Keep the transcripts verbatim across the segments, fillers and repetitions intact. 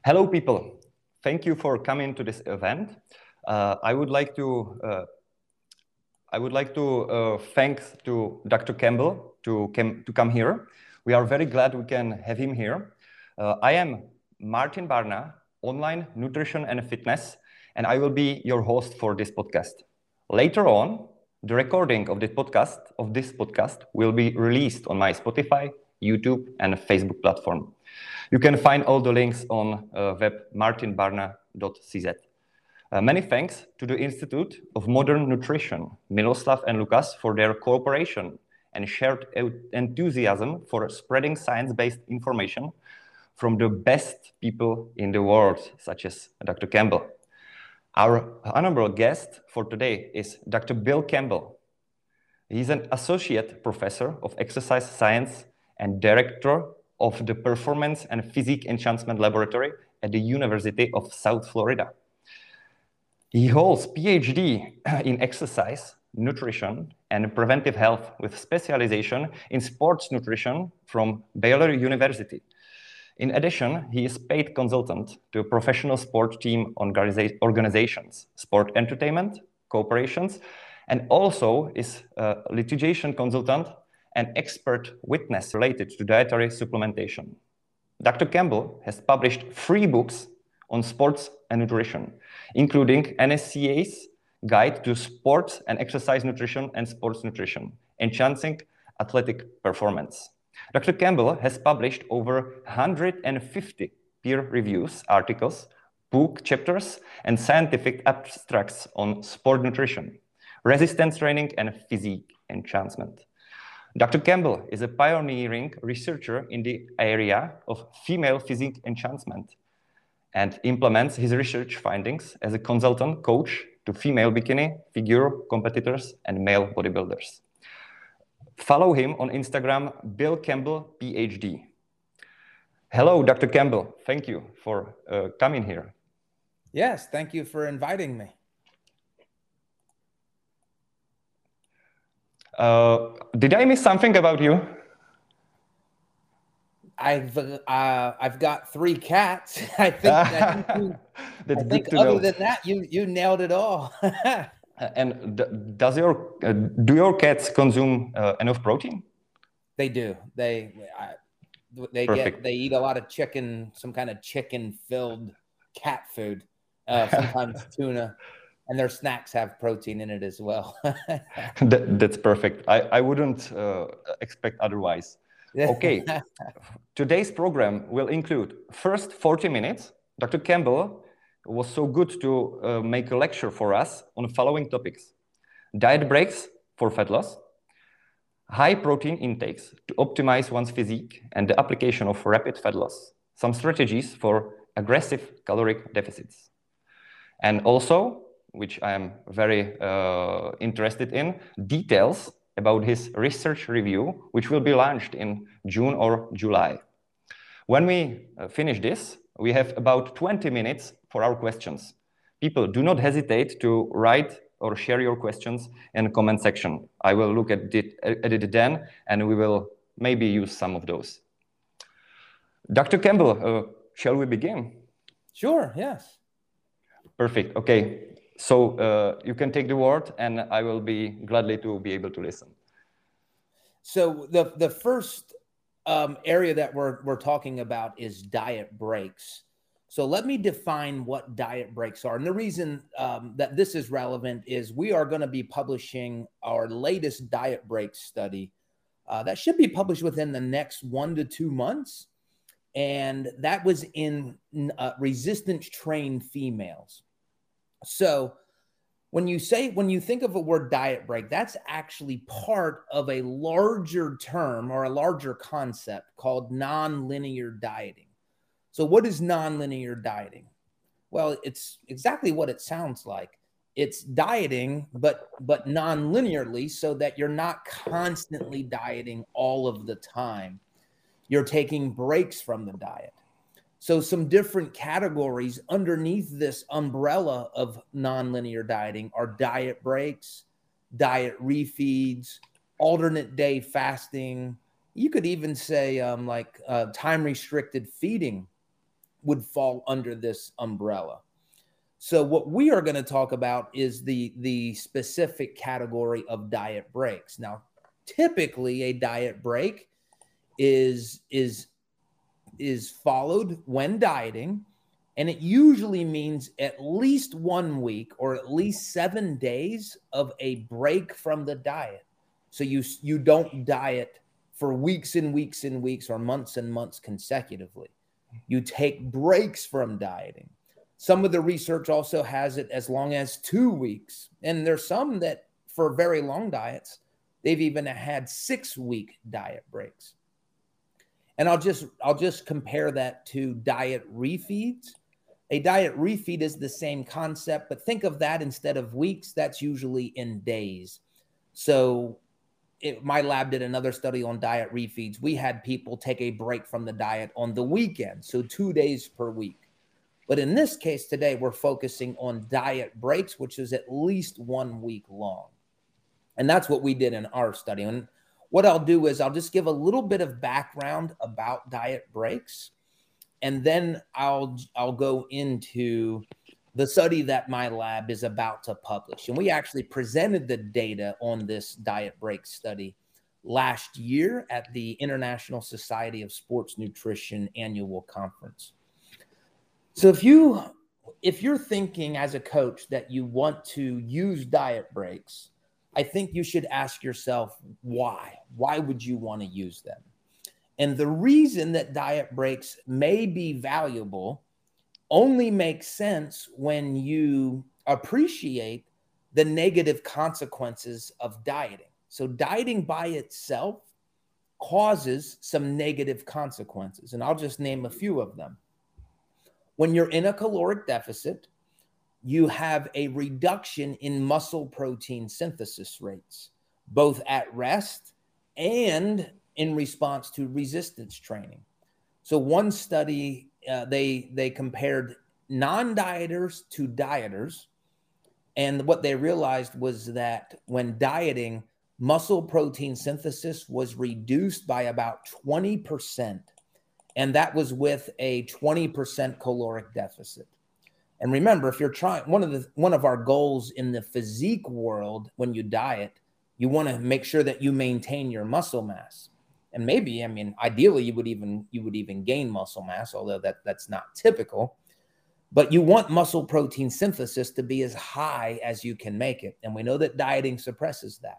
Hello, people. Thank you for coming to this event. Uh, I would like to uh, I would like to uh, thank to Doctor Campbell to, cam to come here. We are very glad we can have him here. Uh, I am Martin Barna, online nutrition and fitness, and I will be your host for this podcast. Later on, the recording of this podcast of this podcast will be released on my Spotify, YouTube, and Facebook platform. You can find all the links on uh, web martin barna dot c z. Uh, many thanks to the Institute of Modern Nutrition, Miloslav and Lukas, for their cooperation and shared enthusiasm for spreading science-based information from the best people in the world, such as Doctor Campbell. Our honorable guest for today is Doctor Bill Campbell. He's an associate professor of exercise science and director of the Performance and Physique Enhancement Laboratory at the University of South Florida. He holds PhD in exercise, nutrition, and preventive health with specialization in sports nutrition from Baylor University. In addition, he is paid consultant to professional sport team organizations, sport entertainment, corporations, and also is a litigation consultant and expert witness related to dietary supplementation. Doctor Campbell has published three books on sports and nutrition, including N S C A's Guide to Sports and Exercise Nutrition and Sports Nutrition, Enhancing Athletic Performance. Doctor Campbell has published over one hundred fifty peer reviews, articles, book chapters, and scientific abstracts on sport nutrition, resistance training, and physique enhancement. Doctor Campbell is a pioneering researcher in the area of female physique enhancement and implements his research findings as a consultant coach to female bikini, figure competitors, and male bodybuilders. Follow him on Instagram, Bill Campbell, PhD. Hello, Doctor Campbell. Thank you for uh, coming here. Yes, thank you for inviting me. Uh, did I miss something about you? I've uh, I've got three cats. I think, I think, you, That's I think good to other know. than that, you you nailed it all. And does your uh, do your cats consume uh, enough protein? They do. They I, they Perfect. get they eat a lot of chicken, some kind of chicken filled cat food. Uh, sometimes tuna. And their snacks have protein in it as well. that, that's perfect. I, I wouldn't uh, expect otherwise. Okay, today's program will include first forty minutes. Doctor Campbell was so good to uh, make a lecture for us on the following topics: diet breaks for fat loss, high protein intakes to optimize one's physique and the application of rapid fat loss, some strategies for aggressive caloric deficits, and also, which I am very uh, interested in, details about his research review, which will be launched in June or July. When we uh, finish this, we have about twenty minutes for our questions. People, do not hesitate to write or share your questions in the comment section. I will look at it, at it then, and we will maybe use some of those. Doctor Campbell, uh, shall we begin? Sure, yes. Perfect, okay. So uh, you can take the word, and I will be gladly to be able to listen. So the the first um, area that we're we're talking about is diet breaks. So let me define what diet breaks are. And the reason um, that this is relevant is we are going to be publishing our latest diet break study uh, that should be published within the next one to two months. And that was in uh, resistance trained females. So when you say, when you think of a word diet break, that's actually part of a larger term or a larger concept called nonlinear dieting. So what is nonlinear dieting? Well, it's exactly what it sounds like. It's dieting, but, but non-linearly, so that you're not constantly dieting all of the time. You're taking breaks from the diet. So some different categories underneath this umbrella of nonlinear dieting are diet breaks, diet refeeds, alternate day fasting. You could even say um, like uh, time-restricted feeding would fall under this umbrella. So what we are going to talk about is the, the specific category of diet breaks. Now, typically a diet break is, is, is followed when dieting, and it usually means at least one week or at least seven days of a break from the diet. So you, you don't diet for weeks and weeks and weeks or months and months consecutively. You take breaks from dieting. Some of the research also has it as long as two weeks. And there's some that for very long diets, they've even had six week diet breaks. And I'll just, I'll just compare that to diet refeeds. A diet refeed is the same concept, but think of that instead of weeks, that's usually in days. So it, my lab did another study on diet refeeds. We had people take a break from the diet on the weekend, so two days per week. But in this case today, we're focusing on diet breaks, which is at least one week long. And that's what we did in our study. And what I'll do is I'll just give a little bit of background about diet breaks, and then I'll, I'll go into the study that my lab is about to publish. And we actually presented the data on this diet break study last year at the International Society of Sports Nutrition annual conference. So if you, if you're thinking as a coach that you want to use diet breaks, I think you should ask yourself, why? Why would you want to use them? And the reason that diet breaks may be valuable only makes sense when you appreciate the negative consequences of dieting. So dieting by itself causes some negative consequences, and I'll just name a few of them. When you're in a caloric deficit, you have a reduction in muscle protein synthesis rates, both at rest and in response to resistance training. So one study, uh, they, they compared non-dieters to dieters. And what they realized was that when dieting, muscle protein synthesis was reduced by about twenty percent. And that was with a twenty percent caloric deficit. And remember, if you're trying, one of the, one of our goals in the physique world, when you diet, you want to make sure that you maintain your muscle mass. And maybe, I mean, ideally you would even, you would even gain muscle mass, although that, that's not typical, but you want muscle protein synthesis to be as high as you can make it. And we know that dieting suppresses that.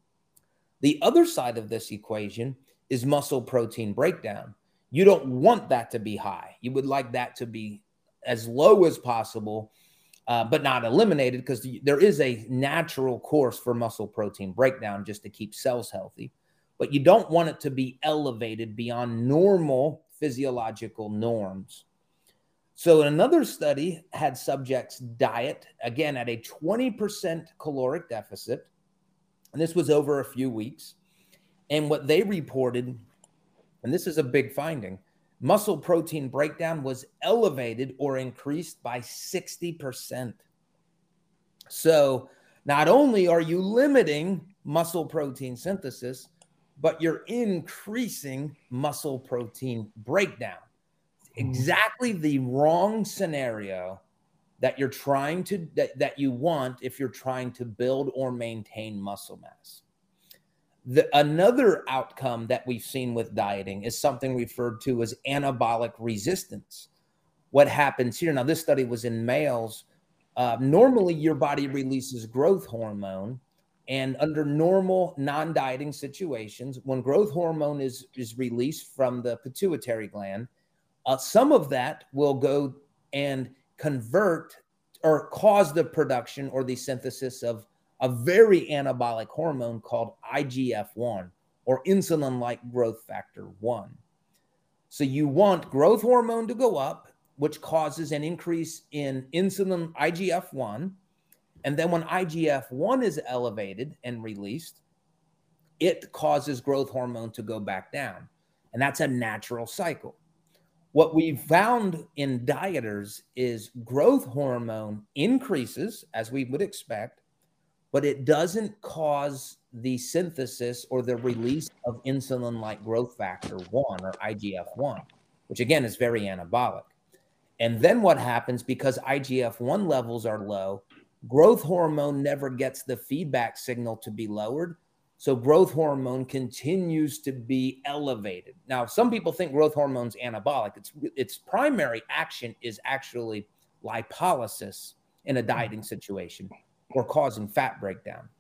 The other side of this equation is muscle protein breakdown. You don't want that to be high. You would like that to be as low as possible, uh, but not eliminated, because there is a natural course for muscle protein breakdown just to keep cells healthy. But you don't want it to be elevated beyond normal physiological norms. So another study had subjects diet, again, at a twenty percent caloric deficit. And this was over a few weeks. And what they reported, and this is a big finding, muscle protein breakdown was elevated or increased by sixty percent. So not only are you limiting muscle protein synthesis, but you're increasing muscle protein breakdown. Exactly the wrong scenario that you're trying to, that, that you want if you're trying to build or maintain muscle mass. The, another outcome that we've seen with dieting is something referred to as anabolic resistance. What happens here, now this study was in males. Uh, normally your body releases growth hormone, and under normal non-dieting situations, when growth hormone is, is released from the pituitary gland, uh, some of that will go and convert or cause the production or the synthesis of a very anabolic hormone called I G F one, or insulin-like growth factor one. So you want growth hormone to go up, which causes an increase in insulin I G F one. And then when I G F one is elevated and released, it causes growth hormone to go back down. And that's a natural cycle. What we found in dieters is growth hormone increases, as we would expect, but it doesn't cause the synthesis or the release of insulin-like growth factor one, or I G F one, which again is very anabolic. And then what happens, because I G F one levels are low, growth hormone never gets the feedback signal to be lowered. So growth hormone continues to be elevated. Now, some people think growth hormone's anabolic. Its, its primary action is actually lipolysis in a dieting situation or causing fat breakdown.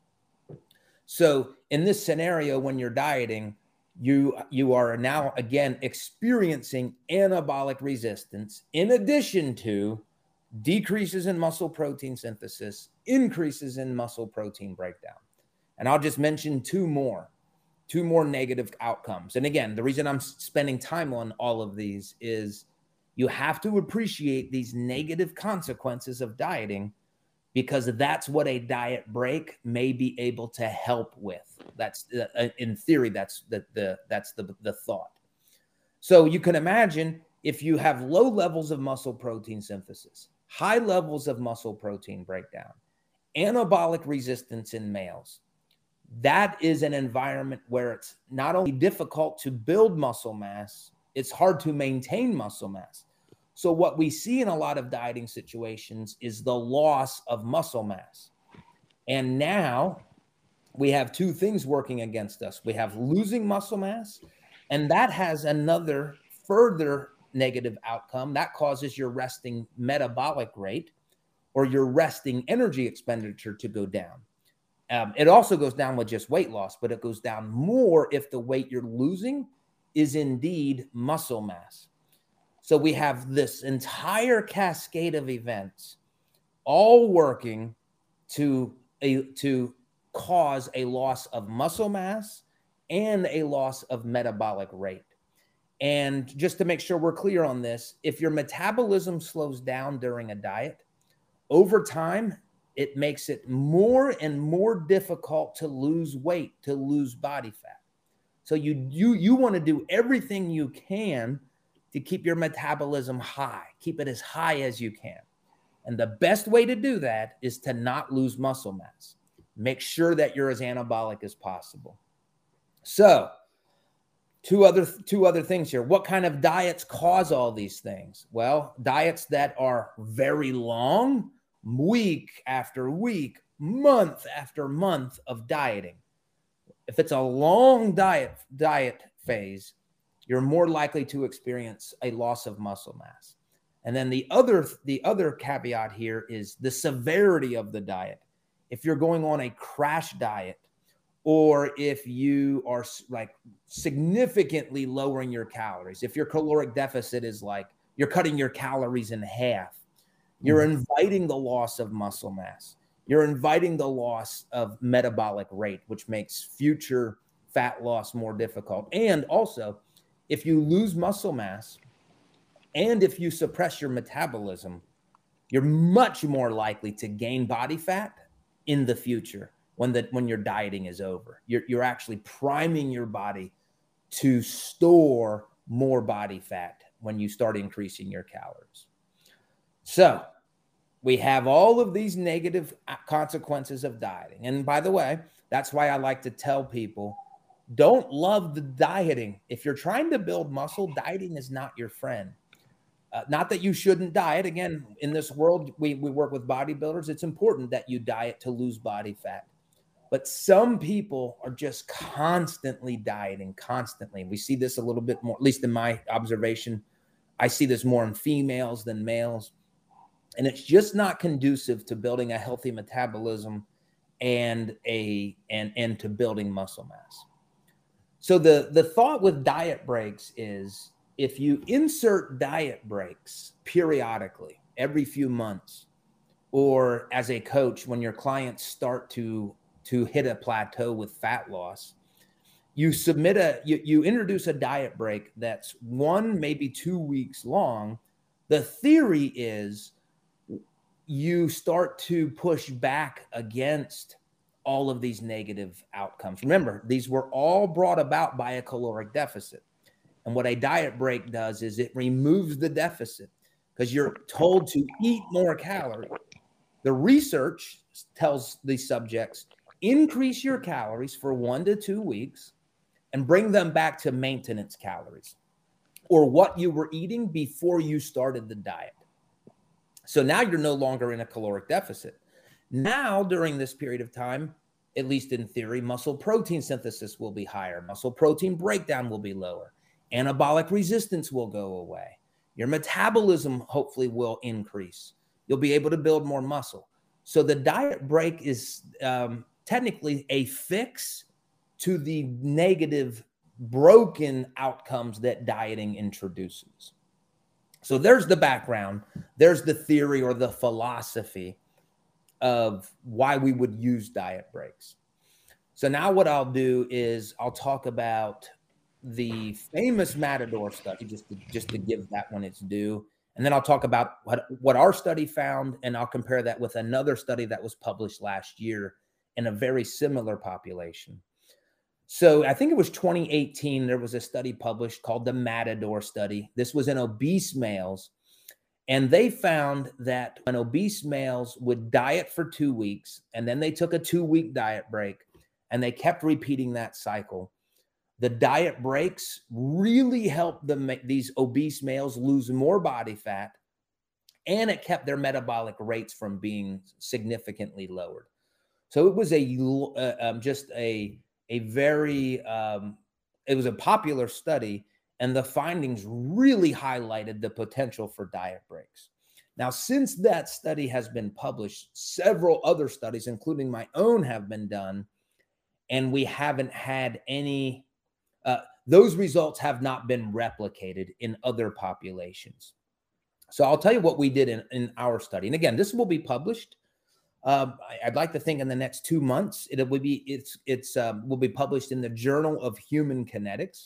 So in this scenario, when you're dieting, you, you are now, again, experiencing anabolic resistance in addition to decreases in muscle protein synthesis, increases in muscle protein breakdown. And I'll just mention two more, two more negative outcomes. And again, the reason I'm spending time on all of these is you have to appreciate these negative consequences of dieting, because that's what a diet break may be able to help with. That's uh, in theory, that's the, the, that's the, the thought. So you can imagine if you have low levels of muscle protein synthesis, high levels of muscle protein breakdown, anabolic resistance in males, that is an environment where it's not only difficult to build muscle mass, it's hard to maintain muscle mass. So what we see in a lot of dieting situations is the loss of muscle mass. And now we have two things working against us. We have losing muscle mass, and that has another further negative outcome. That causes your resting metabolic rate or your resting energy expenditure to go down. Um, it also goes down with just weight loss, but it goes down more if the weight you're losing is indeed muscle mass. So we have this entire cascade of events all working to, a, to cause a loss of muscle mass and a loss of metabolic rate. And just to make sure we're clear on this, if your metabolism slows down during a diet, over time, it makes it more and more difficult to lose weight, to lose body fat. So you, you, you want to do everything you can to keep your metabolism high, keep it as high as you can. And the best way to do that is to not lose muscle mass. Make sure that you're as anabolic as possible. So two other, two other things here. What kind of diets cause all these things? Well, diets that are very long, week after week, month after month of dieting. If it's a long diet, diet phase, you're more likely to experience a loss of muscle mass. And then the other, the other caveat here is the severity of the diet. If you're going on a crash diet, or if you are like significantly lowering your calories, if your caloric deficit is like you're cutting your calories in half, you're inviting the loss of muscle mass. You're inviting the loss of metabolic rate, which makes future fat loss more difficult. And also, if you lose muscle mass and if you suppress your metabolism, you're much more likely to gain body fat in the future when, the, when your dieting is over. You're, you're actually priming your body to store more body fat when you start increasing your calories. So we have all of these negative consequences of dieting. And by the way, that's why I like to tell people, don't love the dieting. If you're trying to build muscle, dieting is not your friend. Uh, not that you shouldn't diet. Again, in this world, we, we work with bodybuilders. It's important that you diet to lose body fat. But some people are just constantly dieting, constantly. We see this a little bit more, at least in my observation. I see this more in females than males. And it's just not conducive to building a healthy metabolism and, a, and, and to building muscle mass. So the, the thought with diet breaks is if you insert diet breaks periodically, every few months, or as a coach, when your clients start to, to hit a plateau with fat loss, you submit a, you, you introduce a diet break that's one, maybe two weeks long. The theory is you start to push back against all of these negative outcomes. Remember, these were all brought about by a caloric deficit. And what a diet break does is it removes the deficit because you're told to eat more calories. The research tells the subjects, increase your calories for one to two weeks and bring them back to maintenance calories or what you were eating before you started the diet. So now you're no longer in a caloric deficit. Now, during this period of time, at least in theory, muscle protein synthesis will be higher. Muscle protein breakdown will be lower. Anabolic resistance will go away. Your metabolism hopefully will increase. You'll be able to build more muscle. So the diet break is um, technically a fix to the negative, broken outcomes that dieting introduces. So there's the background. There's the theory or the philosophy of why we would use diet breaks. So now what I'll do is I'll talk about the famous Matador study, just to, just to give that one its due. And then I'll talk about what, what our study found, and I'll compare that with another study that was published last year in a very similar population. So I think it was twenty eighteen, there was a study published called the Matador study. This was in obese males. And they found that when obese males would diet for two weeks, and then they took a two-week diet break, and they kept repeating that cycle, the diet breaks really helped them, these obese males, lose more body fat, and it kept their metabolic rates from being significantly lowered. So it was a uh, um, just a a very um, it was a popular study. And the findings really highlighted the potential for diet breaks. Now, since that study has been published, several other studies, including my own, have been done, and we haven't had any, uh, those results have not been replicated in other populations. So I'll tell you what we did in, in our study. And again, this will be published. Um, I'd like to think in the next two months, it will be, it's, it's, um, will be published in the Journal of Human Kinetics.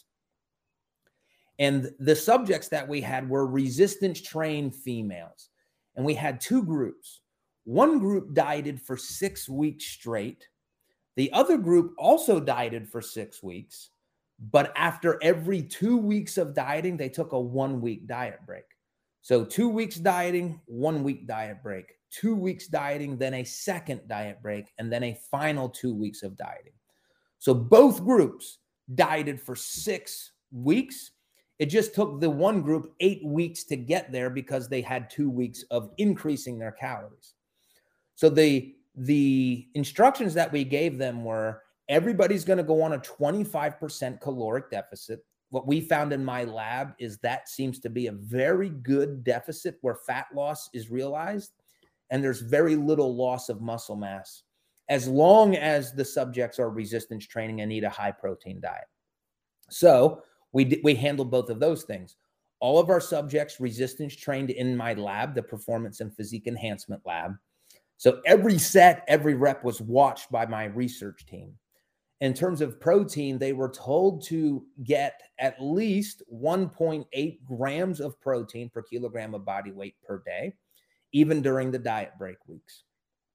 And the subjects that we had were resistance trained females. And we had two groups. One group dieted for six weeks straight. The other group also dieted for six weeks. But after every two weeks of dieting, they took a one week diet break. So two weeks dieting, one week diet break, two weeks dieting, then a second diet break, and then a final two weeks of dieting. So both groups dieted for six weeks. It just took the one group eight weeks to get there because they had two weeks of increasing their calories. So the, the instructions that we gave them were everybody's going to go on a twenty-five percent caloric deficit. What we found in my lab is that seems to be a very good deficit where fat loss is realized and there's very little loss of muscle mass as long as the subjects are resistance training and eat a high protein diet. So We, we handled both of those things. All of our subjects resistance trained in my lab, the Performance and Physique Enhancement Lab. So every set, every rep was watched by my research team. In terms of protein, they were told to get at least one point eight grams of protein per kilogram of body weight per day, even during the diet break weeks.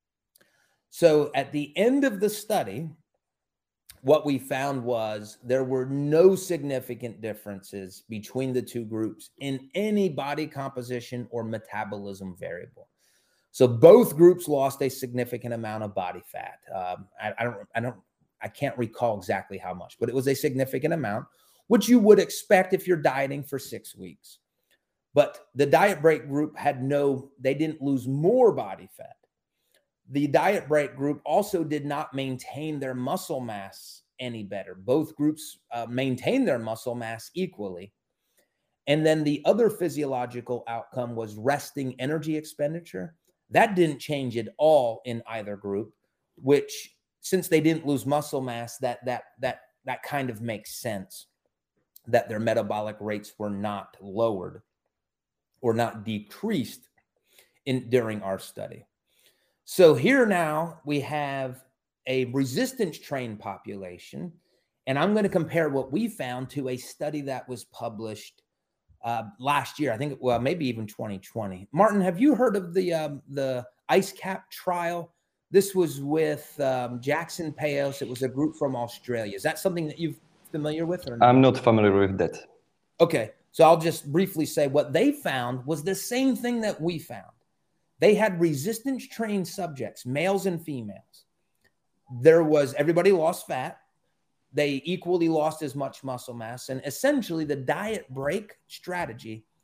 So at the end of the study, what we found was there were no significant differences between the two groups in any body composition or metabolism variable. So both groups lost a significant amount of body fat. Um, I, I don't, I don't, I can't recall exactly how much, but it was a significant amount, which you would expect if you're dieting for six weeks. But the diet break group had no, they didn't lose more body fat. The diet break group also did not maintain their muscle mass any better. Both groups uh, maintained their muscle mass equally. And then the other physiological outcome was resting energy expenditure. That didn't change at all in either group, which since they didn't lose muscle mass, that, that, that, that kind of makes sense that their metabolic rates were not lowered or not decreased in, during our study. So here now we have a resistance trained population, and I'm going to compare what we found to a study that was published uh, last year. I think, well, maybe even twenty twenty. Martin, have you heard of the um, the IceCap trial? This was with um, Jackson Payos. It was a group from Australia. Is that something that you're familiar with? Or not? I'm not familiar with that. Okay, so I'll just briefly say what they found was the same thing that we found. They had resistance trained subjects, males and females. There was, everybody lost fat. They equally lost as much muscle mass. And essentially the diet break strategy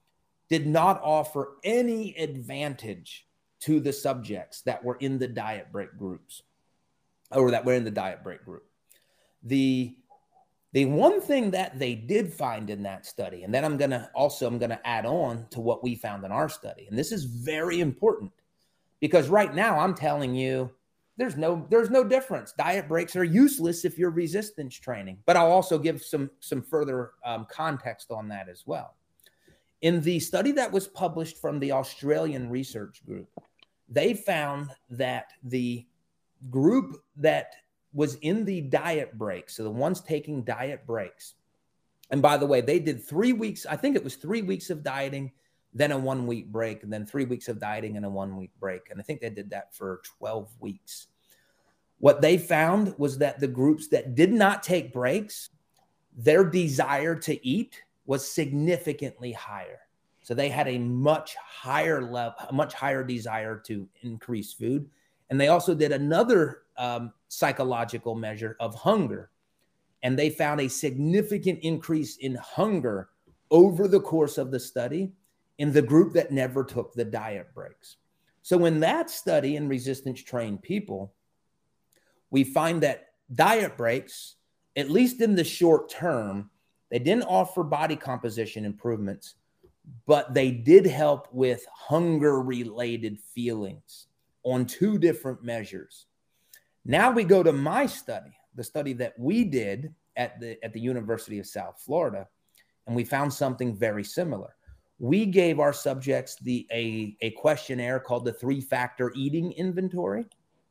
did not offer any advantage to the subjects that were in the diet break groups, or that were in the diet break group. The, the one thing that they did find in that study, and then I'm going to also, I'm going to add on to what we found in our study. And this is very important because right now I'm telling you, there's no, there's no difference. Diet breaks are useless if you're resistance training, but I'll also give some, some further um, context on that as well. In the study that was published from the Australian research group, they found that the group that was in the diet break, so the ones taking diet breaks, and by the way, they did three weeks, I think it was three weeks of dieting, then a one week break, and then three weeks of dieting and a one week break. And I think they did that for twelve weeks. What they found was that the groups that did not take breaks, their desire to eat was significantly higher. So they had a much higher level, a much higher desire to increase food. And they also did another um, psychological measure of hunger. And they found a significant increase in hunger over the course of the study in the group that never took the diet breaks. So in that study in resistance trained people, we find that diet breaks, at least in the short term, they didn't offer body composition improvements, but they did help with hunger-related feelings on two different measures. Now we go to my study, the study that we did at the, at the University of South Florida, and we found something very similar. We gave our subjects the, a, a questionnaire called the three-factor eating inventory,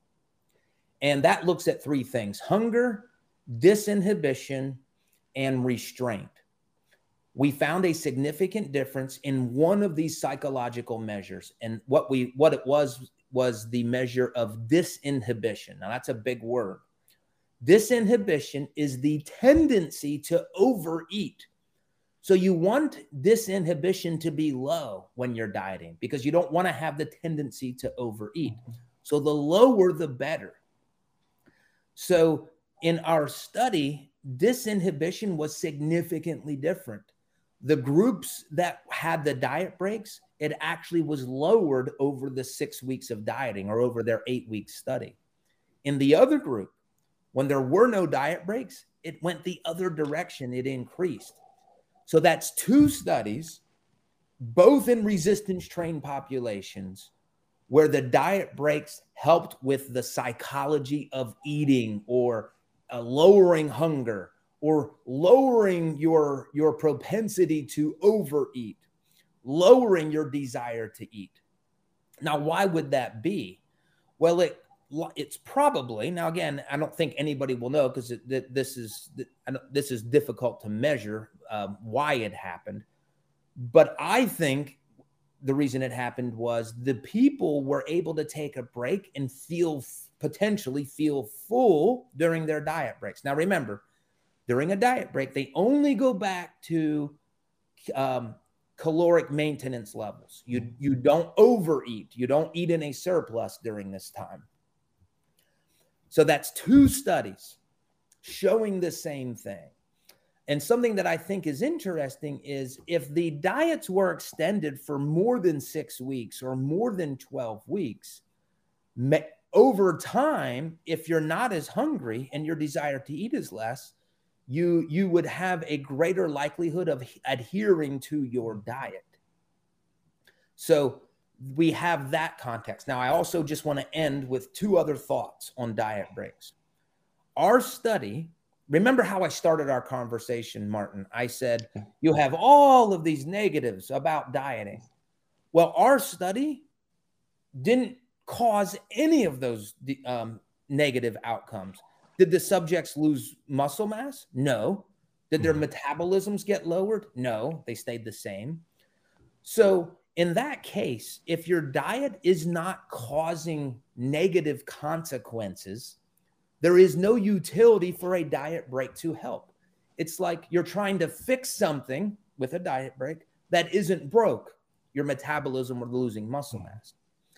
and that looks at three things: hunger, disinhibition, and restraint. We found a significant difference in one of these psychological measures. And what we what it was was the measure of disinhibition. Now that's a big word. Disinhibition is the tendency to overeat. So you want disinhibition to be low when you're dieting because you don't want to have the tendency to overeat. So the lower, the better. So in our study, disinhibition was significantly different. The groups that had the diet breaks, it actually was lowered over the six weeks of dieting or over their eight week study. In the other group, when there were no diet breaks, it went the other direction. It increased. So that's two studies, both in resistance trained populations, where the diet breaks helped with the psychology of eating or uh, lowering hunger or lowering your, your propensity to overeat, lowering your desire to eat. Now, why would that be? Well, it it's probably, now again, I don't think anybody will know because this is this is difficult to measure um, why it happened. But I think the reason it happened was the people were able to take a break and feel, potentially feel full during their diet breaks. Now, remember, during a diet break, they only go back to um, caloric maintenance levels. You, you don't overeat. You don't eat in a surplus during this time. So that's two studies showing the same thing. And something that I think is interesting is if the diets were extended for more than six weeks or more than twelve weeks, over time, if you're not as hungry and your desire to eat is less, you, you would have a greater likelihood of adhering to your diet. So we have that context. Now, I also just want to end with two other thoughts on diet breaks. Our study, remember how I started our conversation, Martin? I said, you have all of these negatives about dieting. Well, our study didn't cause any of those um, negative outcomes. Did the subjects lose muscle mass? No. Did their metabolisms get lowered? No, they stayed the same. So in that case, if your diet is not causing negative consequences, there is no utility for a diet break to help. It's like you're trying to fix something with a diet break that isn't broke, your metabolism or losing muscle mass.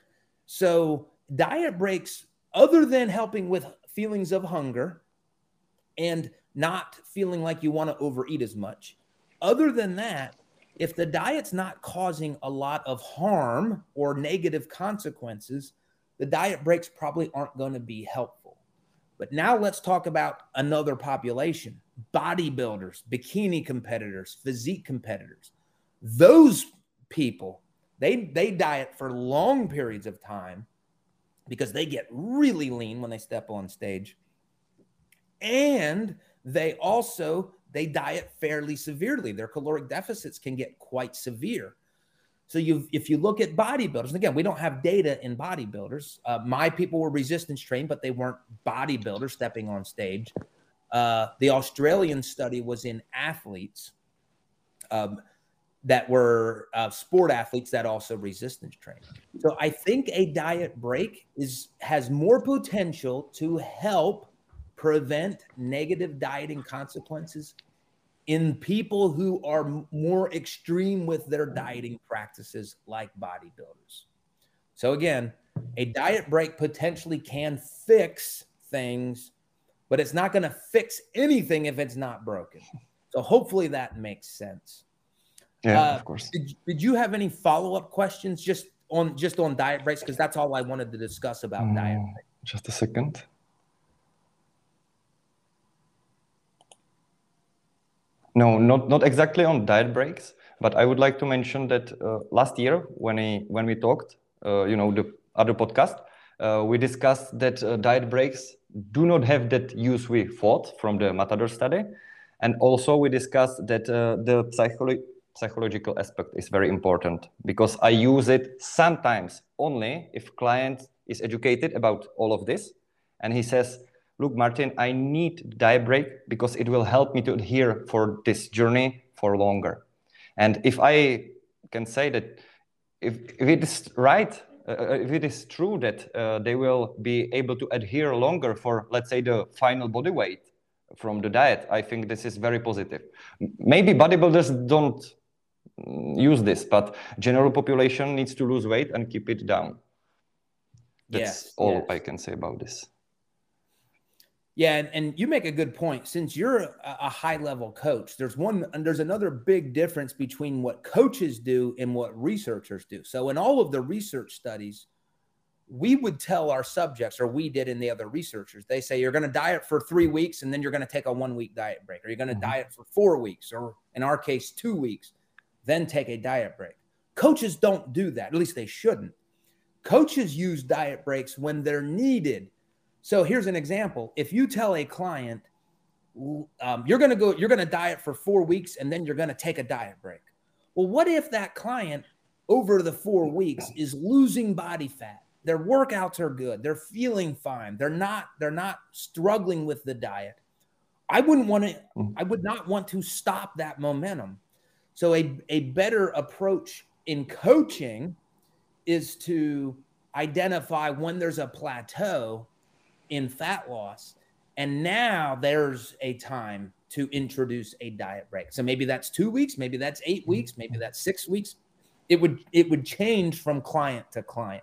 So diet breaks, other than helping with feelings of hunger and not feeling like you want to overeat as much, other than that, If the diet's not causing a lot of harm or negative consequences, the diet breaks probably aren't going to be helpful. But now let's talk about another population, bodybuilders, bikini competitors, physique competitors. Those people, they, they diet for long periods of time because they get really lean when they step on stage. And they also, they diet fairly severely. Their caloric deficits can get quite severe. So you, if you look at bodybuilders, and again, we don't have data in bodybuilders. Uh, my people were resistance trained, but they weren't bodybuilders stepping on stage. Uh, the Australian study was in athletes um, that were uh, sport athletes that also resistance trained. So I think a diet break is has more potential to help prevent negative dieting consequences in people who are more extreme with their dieting practices, like bodybuilders. So again, a diet break potentially can fix things, but it's not going to fix anything if it's not broken. So hopefully that makes sense. Yeah, uh, of course. Did, did you have any follow-up questions just on just on diet breaks? Because that's all I wanted to discuss about um, diet breaks. Just a second. No, not, not exactly on diet breaks, but I would like to mention that uh, last year when, I, when we talked, uh, you know, the other podcast, uh, we discussed that uh, diet breaks do not have that use we thought from the Matador study. And also we discussed that uh, the psycholo psychological aspect is very important, because I use it sometimes only if client is educated about all of this. And he says, look, Martin, I need diet break because it will help me to adhere for this journey for longer. And if I can say that if, if it is right, uh, if it is true that uh, they will be able to adhere longer for, let's say, the final body weight from the diet, I think this is very positive. Maybe bodybuilders don't use this, but general population needs to lose weight and keep it down. That's yes, all yes. I can say about this. Yeah, and, and you make a good point. Since you're a, a high-level coach, there's one and there's another big difference between what coaches do and what researchers do. So in all of the research studies, we would tell our subjects, or we did in the other researchers, they say you're going to diet for three weeks and then you're going to take a one-week diet break, or you're going to mm-hmm. diet for four weeks, or in our case, two weeks, then take a diet break. Coaches don't do that. At least they shouldn't. Coaches use diet breaks when they're needed. So here's an example. If you tell a client, um, you're going to go, you're going to diet for four weeks and then you're going to take a diet break. Well, what if that client over the four weeks is losing body fat? Their workouts are good. They're feeling fine. They're not, they're not struggling with the diet. I wouldn't want to, I would not want to stop that momentum. So a, a better approach in coaching is to identify when there's a plateau in fat loss, and now there's a time to introduce a diet break. So maybe that's two weeks, maybe that's eight weeks, maybe that's six weeks. It would it would change from client to client.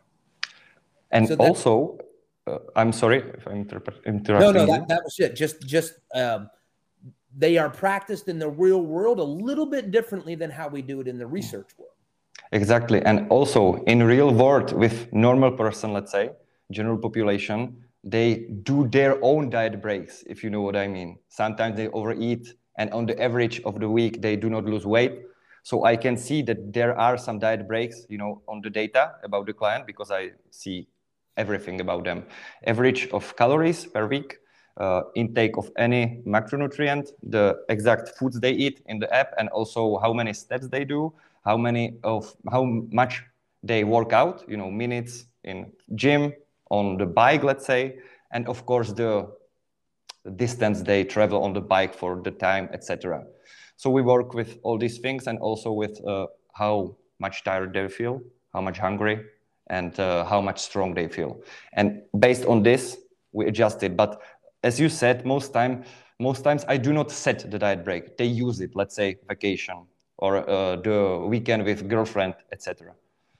And so also, uh, I'm sorry if I'm interrupting. No, no, that, that was it. Just just um, they are practiced in the real world a little bit differently than how we do it in the research world. Exactly, and also in real world with normal person, let's say, general population, they do their own diet breaks, if you know what I mean. Sometimes they overeat, and on the average of the week, they do not lose weight. So I can see that there are some diet breaks, you know, on the data about the client, because I see everything about them. Average of calories per week, uh, intake of any macronutrient, the exact foods they eat in the app, and also how many steps they do, how many of, how much they work out, you know, minutes in gym, on the bike, let's say, and of course the distance they travel on the bike for the time, et cetera. So we work with all these things, and also with uh, how much tired they feel, how much hungry, and uh, how much strong they feel. And based on this, we adjust it. But as you said, most time, most times I do not set the diet break. They use it, let's say vacation or uh, the weekend with girlfriend, et cetera.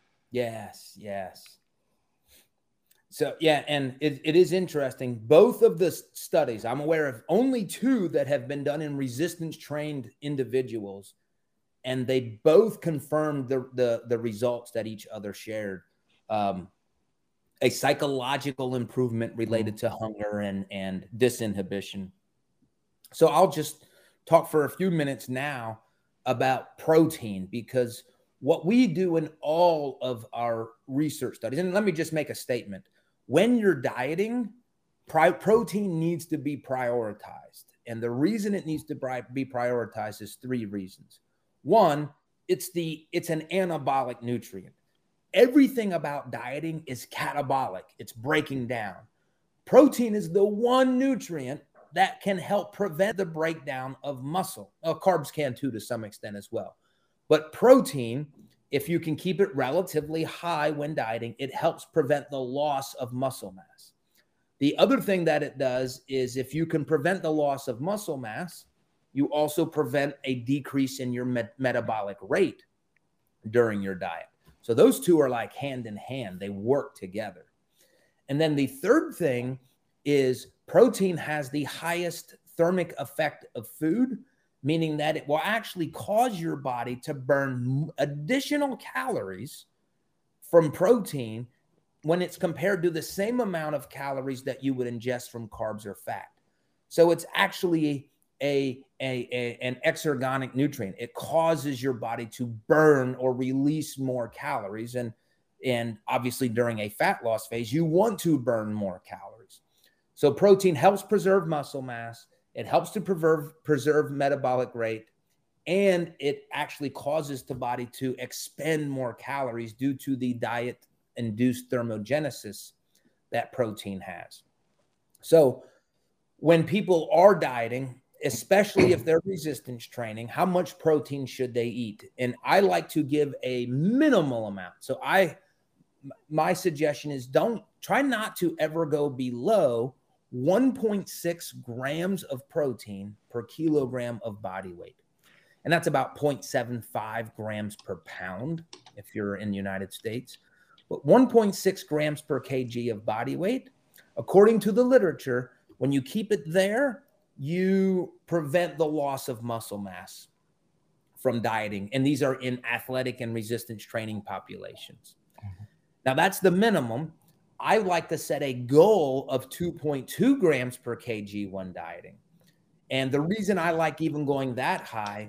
Yes, yes. So, yeah, and it, it is interesting. Both of the studies, I'm aware of only two that have been done in resistance-trained individuals. and they both confirmed the, the, the results that each other shared. Um, a psychological improvement related to hunger and, and disinhibition. So I'll just talk for a few minutes now about protein, because what we do in all of our research studies, and let me just make a statement. When you're dieting, protein needs to be prioritized. And the reason it needs to be prioritized is three reasons. One, it's the it's an anabolic nutrient. Everything about dieting is catabolic. It's breaking down. Protein is the one nutrient that can help prevent the breakdown of muscle. Oh, carbs can too to some extent as well. But protein, if you can keep it relatively high when dieting, it helps prevent the loss of muscle mass. The other thing that it does is if you can prevent the loss of muscle mass, you also prevent a decrease in your met metabolic rate during your diet. So those two are like hand in hand. They work together. And then the third thing is protein has the highest thermic effect of food, meaning that it will actually cause your body to burn additional calories from protein when it's compared to the same amount of calories that you would ingest from carbs or fat. So it's actually a, a, a, an exergonic nutrient. It causes your body to burn or release more calories. And, and obviously during a fat loss phase, you want to burn more calories. So protein helps preserve muscle mass. It helps to preserve, preserve metabolic rate, and it actually causes the body to expend more calories due to the diet-induced thermogenesis that protein has. So when people are dieting, especially if they're resistance training, how much protein should they eat? And I like to give a minimal amount. So I, my suggestion is don't try not to ever go below one point six grams of protein per kilogram of body weight. And that's about zero point seven five grams per pound if you're in the United States. But one point six grams per kg of body weight, according to the literature, when you keep it there, you prevent the loss of muscle mass from dieting. And these are in athletic and resistance training populations. Mm-hmm. Now, that's the minimum. I like to set a goal of two point two grams per kg when dieting. And the reason I like even going that high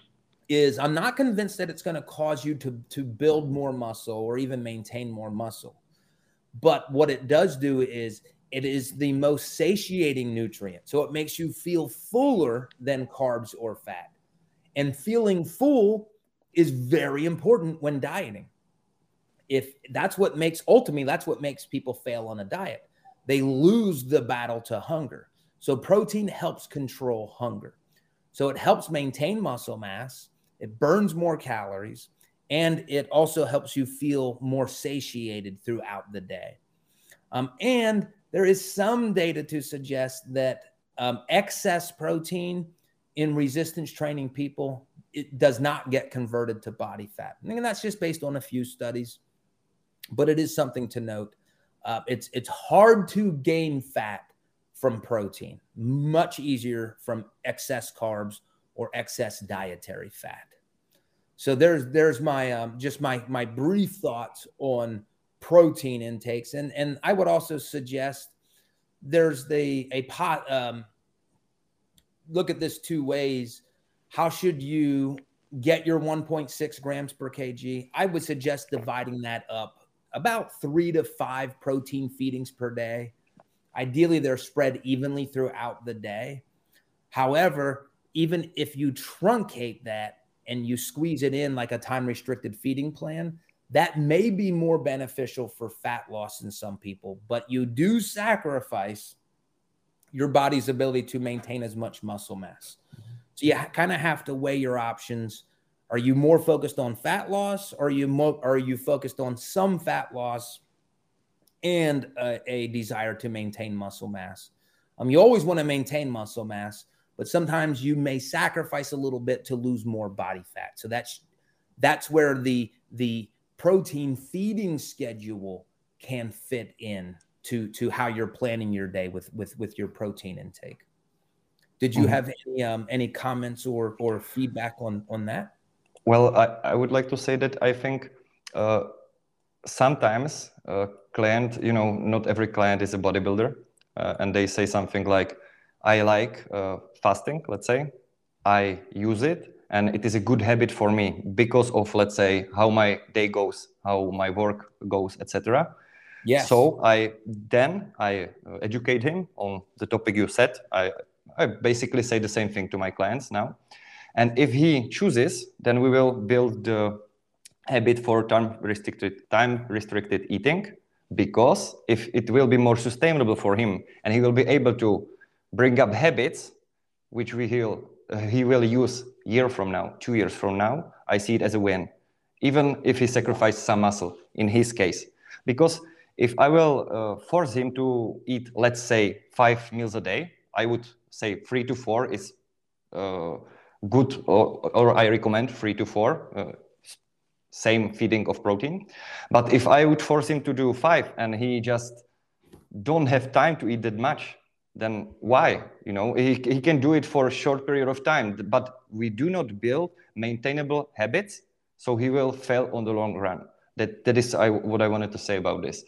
is I'm not convinced that it's going to cause you to, to build more muscle or even maintain more muscle. But what it does do is it is the most satiating nutrient. So it makes you feel fuller than carbs or fat. And feeling full is very important when dieting. If that's what makes, ultimately, that's what makes people fail on a diet. They lose the battle to hunger. So protein helps control hunger. So it helps maintain muscle mass. It burns more calories, and it also helps you feel more satiated throughout the day. Um, and there is some data to suggest that um, excess protein in resistance training people, it does not get converted to body fat. And that's just based on a few studies. But it is something to note. Uh, it's, it's hard to gain fat from protein, much easier from excess carbs or excess dietary fat. So there's, there's my, um, just my, my brief thoughts on protein intakes. And, and I would also suggest there's the, a pot, um, look at this two ways. How should you get your one point six grams per kg? I would suggest dividing that up about three to five protein feedings per day. Ideally, they're spread evenly throughout the day. However, even if you truncate that and you squeeze it in like a time-restricted feeding plan, that may be more beneficial for fat loss in some people, but you do sacrifice your body's ability to maintain as much muscle mass. So you kind of have to weigh your options. Are you more focused on fat loss, or are you more, are you focused on some fat loss and a, a desire to maintain muscle mass? Um, you always want to maintain muscle mass, but sometimes you may sacrifice a little bit to lose more body fat. So that's that's where the the protein feeding schedule can fit in to to how you're planning your day with with with your protein intake. Did you have any um, any comments or or feedback on on that? Well, I, I would like to say that I think uh, sometimes uh, client, you know, not every client is a bodybuilder, uh, and they say something like, I like uh, fasting, let's say, I use it, and it is a good habit for me because of, let's say, how my day goes, how my work goes, et cetera. Yes. So I then I uh, educate him on the topic you said. I, I basically say the same thing to my clients now. And if he chooses, then we will build the habit for time restricted time restricted eating, because if it will be more sustainable for him and he will be able to bring up habits which we will, uh, he will use year from now, two years from now, I see it as a win, even if he sacrifices some muscle in his case. Because if I will uh, force him to eat, let's say, five meals a day, I would say three to four is uh, good, or, or I recommend three to four, uh, same feeding of protein. But if I would force him to do five and he just don't have time to eat that much, then why? You know, he, he can do it for a short period of time, but we do not build maintainable habits, so he will fail on the long run. That, that is I, what I wanted to say about this.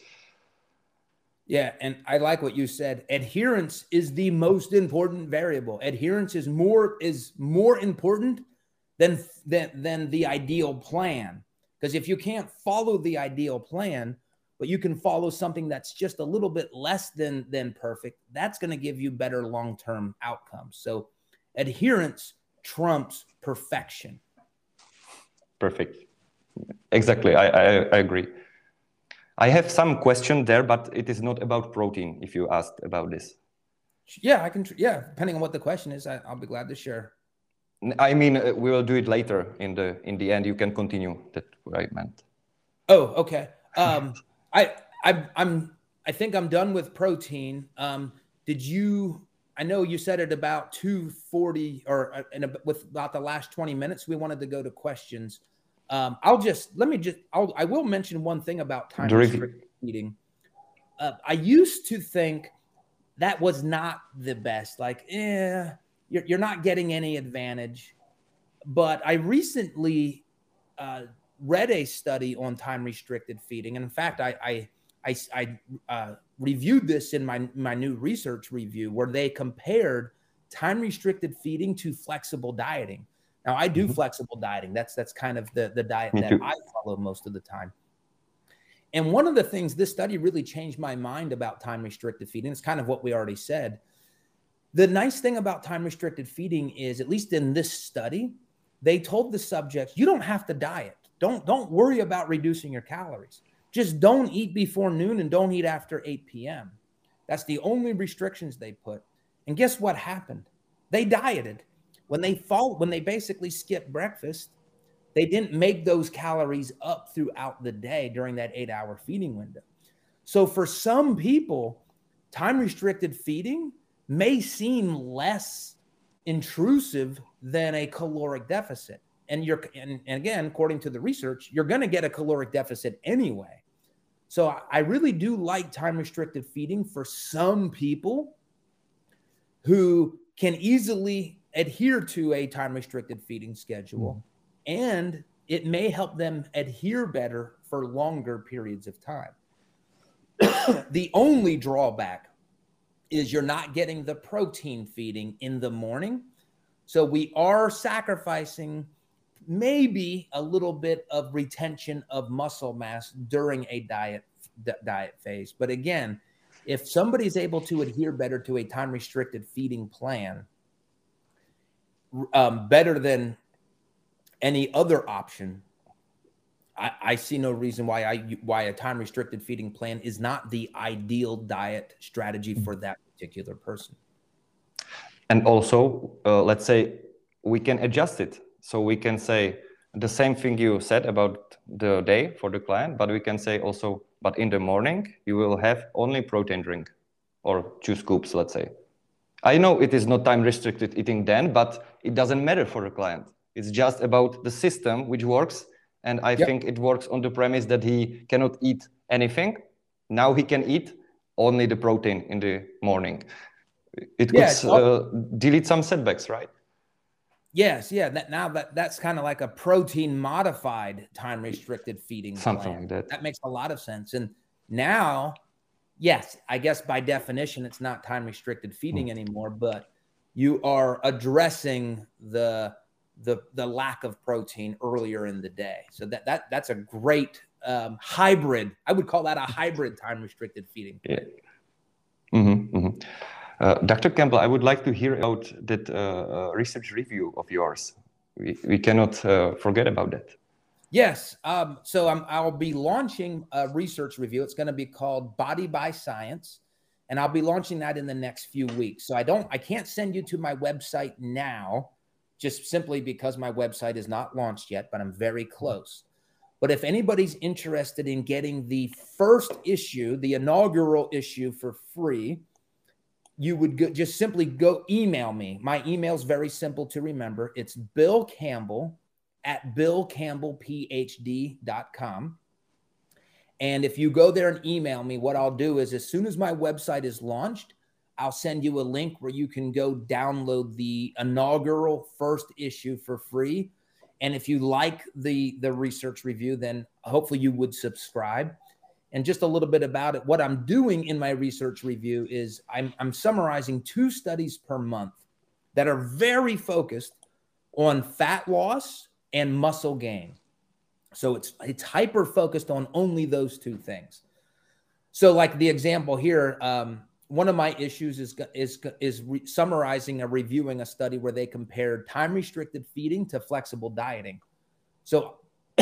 Yeah, and I like what you said. Adherence is the most important variable. Adherence is more is more important than than, than the ideal plan. Because if you can't follow the ideal plan, but you can follow something that's just a little bit less than than perfect, that's going to give you better long-term outcomes. So adherence trumps perfection. Perfect. Exactly. I, I, I agree. I have some question there, but it is not about protein, if you asked about this. Yeah, I can. Yeah, depending on what the question is, I, I'll be glad to share. I mean, uh, we will do it later in the in the end. You can continue. That's what I meant. Oh, okay. Um, I I I'm I think I'm done with protein. Um, did you? I know you said it about two forty, or in a, with about the last twenty minutes. We wanted to go to questions. Um, I'll just let me just I'll, I will mention one thing about time restricted eating. Uh, I used to think that was not the best. Like, eh, you're you're not getting any advantage. But I recently uh, read a study on time restricted feeding, and in fact, I I I, I uh, reviewed this in my my new research review, where they compared time restricted feeding to flexible dieting. Now, I do mm-hmm. flexible dieting. That's that's kind of the, the diet Me that too. I follow most of the time. And one of the things this study really changed my mind about time restricted feeding, it's kind of what we already said. The nice thing about time restricted feeding is, at least in this study, they told the subjects, you don't have to diet. Don't, don't worry about reducing your calories. Just don't eat before noon and don't eat after eight p m That's the only restrictions they put. And guess what happened? They dieted. When they fall, when they basically skipped breakfast, they didn't make those calories up throughout the day during that eight hour feeding window. So for some people, time restricted feeding may seem less intrusive than a caloric deficit. And you're, and, and again, according to the research, you're going to get a caloric deficit anyway. So I really do like time restricted feeding for some people who can easily adhere to a time restricted feeding schedule, mm. and it may help them adhere better for longer periods of time. The only drawback is you're not getting the protein feeding in the morning. So we are sacrificing maybe a little bit of retention of muscle mass during a diet diet phase. But again, if somebody's able to adhere better to a time restricted feeding plan, um, better than any other option, I, I see no reason why I why a time restricted feeding plan is not the ideal diet strategy for that particular person. And also, uh, let's say we can adjust it. So we can say the same thing you said about the day for the client, but we can say also, but in the morning, you will have only protein drink or two scoops, let's say. I know it is not time restricted eating then, but it doesn't matter for the client. It's just about the system which works. And I yep. think it works on the premise that he cannot eat anything. Now he can eat only the protein in the morning. It could yeah, uh, delete some setbacks, right? Yes, yeah. That now that that's kind of like a protein modified time restricted feeding Something plan. like that. That makes a lot of sense. And now, yes, I guess by definition, it's not time restricted feeding mm. anymore, but you are addressing the the the lack of protein earlier in the day. So that that that's a great um, hybrid. I would call that a hybrid time restricted feeding plan. Yeah. Mm-hmm, mm-hmm. Uh, Doctor Campbell, I would like to hear about that uh, research review of yours. We, we cannot uh, forget about that. Yes. Um, so I'm, I'll be launching a research review. It's going to be called Body by Science, and I'll be launching that in the next few weeks. So I don't, I can't send you to my website now, just simply because my website is not launched yet, but I'm very close. But if anybody's interested in getting the first issue, the inaugural issue for free, you would go, just simply go email me. My email is very simple to remember. It's Bill Campbell at bill campbell p h d dot com. And if you go there and email me, what I'll do is as soon as my website is launched, I'll send you a link where you can go download the inaugural first issue for free. And if you like the, the research review, then hopefully you would subscribe. And just a little bit about it, what I'm doing in my research review is I'm, I'm summarizing two studies per month that are very focused on fat loss and muscle gain. So it's, it's hyper focused on only those two things. So like the example here, um, one of my issues is, is, is re summarizing or reviewing a study where they compared time-restricted feeding to flexible dieting. So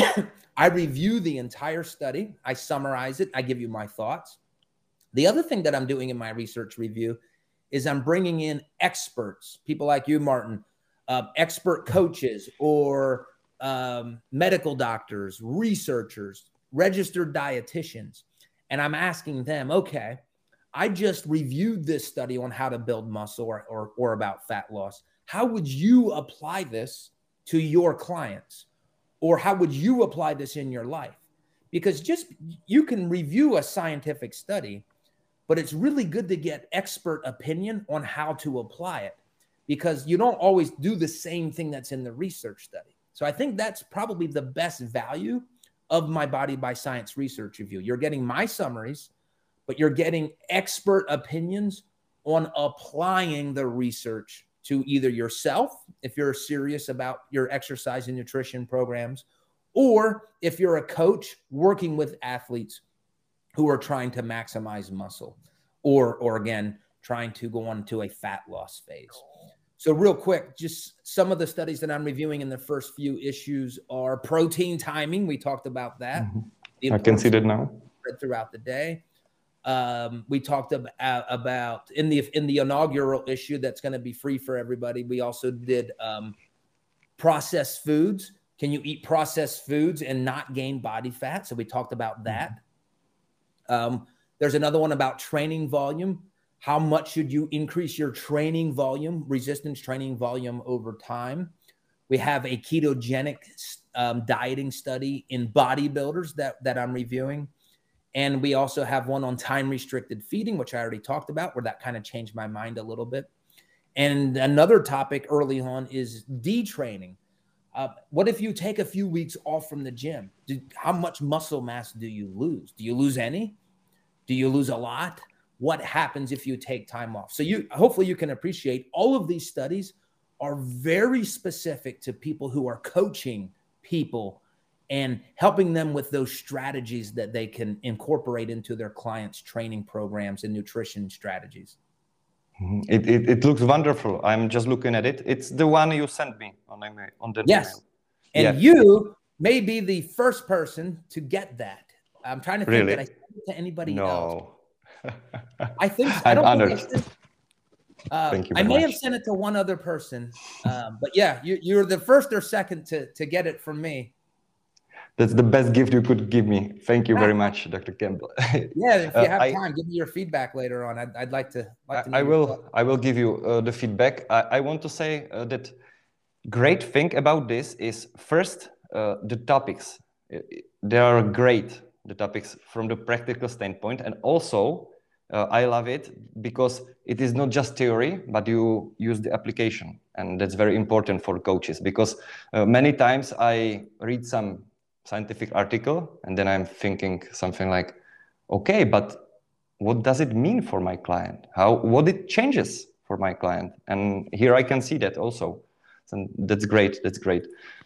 I review the entire study. I summarize it. I give you my thoughts. The other thing that I'm doing in my research review is I'm bringing in experts, people like you, Martin, uh, expert coaches or um, medical doctors, researchers, registered dietitians. And I'm asking them, okay, I just reviewed this study on how to build muscle or, or, or about fat loss. How would you apply this to your clients? Or how would you apply this in your life? Because just you can review a scientific study, but it's really good to get expert opinion on how to apply it, because you don't always do the same thing that's in the research study. So I think that's probably the best value of my Body by Science research review. You're getting my summaries, but you're getting expert opinions on applying the research to either yourself, if you're serious about your exercise and nutrition programs, or if you're a coach working with athletes who are trying to maximize muscle, or, or again, trying to go on to a fat loss phase. So real quick, just some of the studies that I'm reviewing in the first few issues are protein timing. We talked about that. Mm-hmm. I can see that now. Throughout the day. Um, we talked about, about in the in the inaugural issue that's going to be free for everybody. We also did um, processed foods. Can you eat processed foods and not gain body fat? So we talked about that. Um, there's another one about training volume. How much should you increase your training volume, resistance training volume over time? We have a ketogenic um, dieting study in bodybuilders that, that I'm reviewing. And we also have one on time-restricted feeding, which I already talked about, where that kind of changed my mind a little bit. And another topic early on is detraining. Uh, what if you take a few weeks off from the gym? Do, how much muscle mass do you lose? Do you lose any? Do you lose a lot? What happens if you take time off? So you, hopefully you can appreciate all of these studies are very specific to people who are coaching people and helping them with those strategies that they can incorporate into their clients' training programs and nutrition strategies. It, it, it looks wonderful. I'm just looking at it. It's the one you sent me on, on the yes. email. And yes. you may be the first person to get that. I'm trying to think really? that I sent it to anybody no. else. I think so. I'm I don't honored. think I sent, uh, Thank you I very may much. have sent it to one other person. Um, but yeah, you, you're the first or second to, to get it from me. That's the best gift you could give me. Thank you very much, Doctor Campbell. Yeah, if you have uh, I, time, give me your feedback later on. I'd, I'd like to. Like to I, I will. Thoughts. I will give you uh, the feedback. I, I want to say uh, that great thing about this is first uh, the topics. They are great. The topics from the practical standpoint, and also uh, I love it because it is not just theory, but you use the application. And that's very important for coaches, because uh, many times I read some scientific article and then I'm thinking something like, okay, but what does it mean for my client? How, what it changes for my client? And here I can see that also. So that's great, that's great.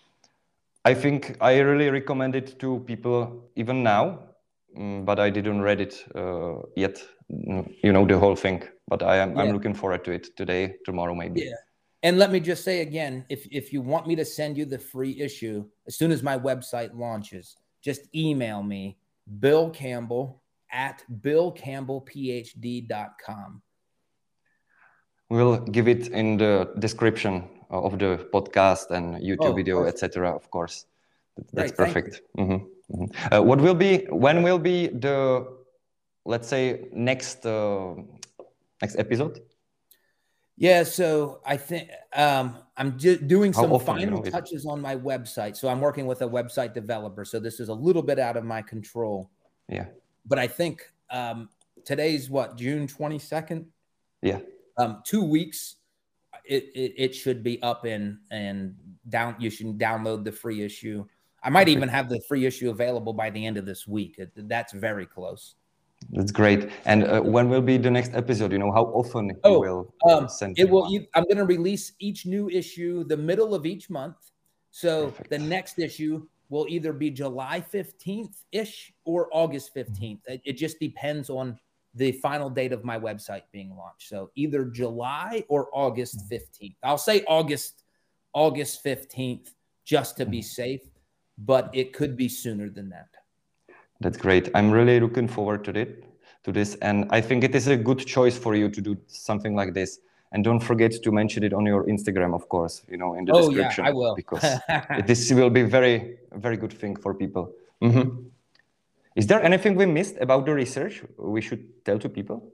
I think I really recommend it to people even now, um, but I didn't read it uh, yet, you know, the whole thing, but I am, yeah. I'm looking forward to it today, tomorrow, maybe. Yeah. And let me just say again, if, if you want me to send you the free issue, as soon as my website launches, just email me, Bill Campbell at bill campbell p h d dot com. We'll give it in the description of the podcast and YouTube oh, video, et cetera. Of course, that's Great, perfect. Mm-hmm. Mm-hmm. Uh, what will be? When will be the, let's say, next uh, next episode? Yeah, so I think um, I'm just doing some often, final you know, touches on my website. So I'm working with a website developer. So this is a little bit out of my control. Yeah. But I think um, today's what, June twenty-second? Yeah. Um, two weeks, it, it, it should be up and, and down. You should download the free issue. I might even have the free issue available by the end of this week. It, that's very close. That's great. And uh, when will be the next episode? You know, how often oh, you will um, send it will. You, I'm going to release each new issue the middle of each month. So Perfect. The next issue will either be July fifteenth-ish or August fifteenth. It, it just depends on the final date of my website being launched. So either July or August fifteenth. I'll say August, August fifteenth, just to be safe, but it could be sooner than that. That's great. I'm really looking forward to it, to this. And I think it is a good choice for you to do something like this. And don't forget to mention it on your Instagram, of course, you know, in the oh, description. Yeah, I will. Because this will be very, very good thing for people. Mm-hmm. Is there anything we missed about the research we should tell to people?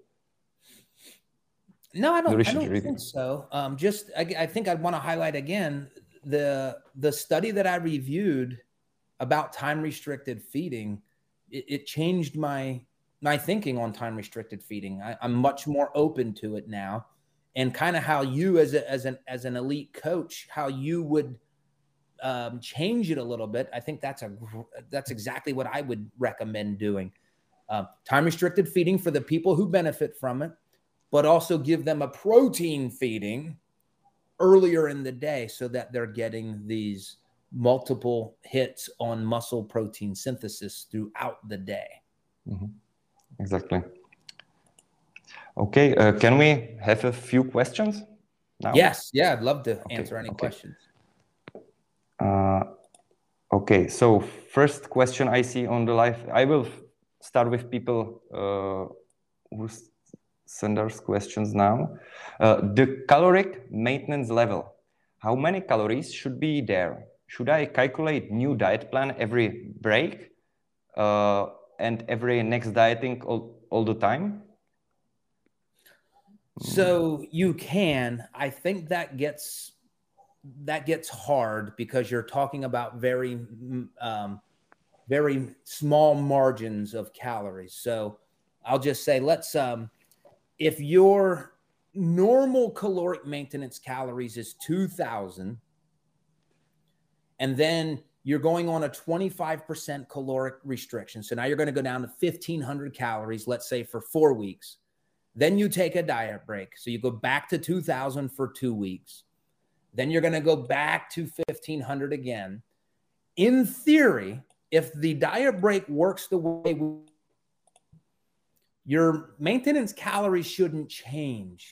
No, I don't, I don't really. think so. Um, just, I, I think I'd want to highlight again, the, the study that I reviewed about time-restricted feeding, it, it changed my, my thinking on time-restricted feeding. I, I'm much more open to it now. And kind of how you as, a, as, an, as an elite coach, how you would um, change it a little bit. I think that's, a, that's exactly what I would recommend doing. Uh, time-restricted feeding for the people who benefit from it, but also give them a protein feeding earlier in the day so that they're getting these multiple hits on muscle protein synthesis throughout the day. Mm-hmm. Exactly. Okay, uh, can we have a few questions now? Yes, yeah, I'd love to okay. answer any okay. questions. Uh, okay, so first question I see on the live, I will start with people uh, who send us questions now. Uh, the caloric maintenance level, how many calories should be there? Should I calculate new diet plan every break uh, and every next dieting all, all the time? So you can. I think that gets that gets hard because you're talking about very um, very small margins of calories. So I'll just say, let's um, if your normal caloric maintenance calories is two thousand, and then you're going on a twenty-five percent caloric restriction. So now you're going to go down to fifteen hundred calories, let's say for four weeks. Then you take a diet break. So you go back to two thousand for two weeks. Then you're going to go back to fifteen hundred again. In theory, if the diet break works the way we, your maintenance calories shouldn't change.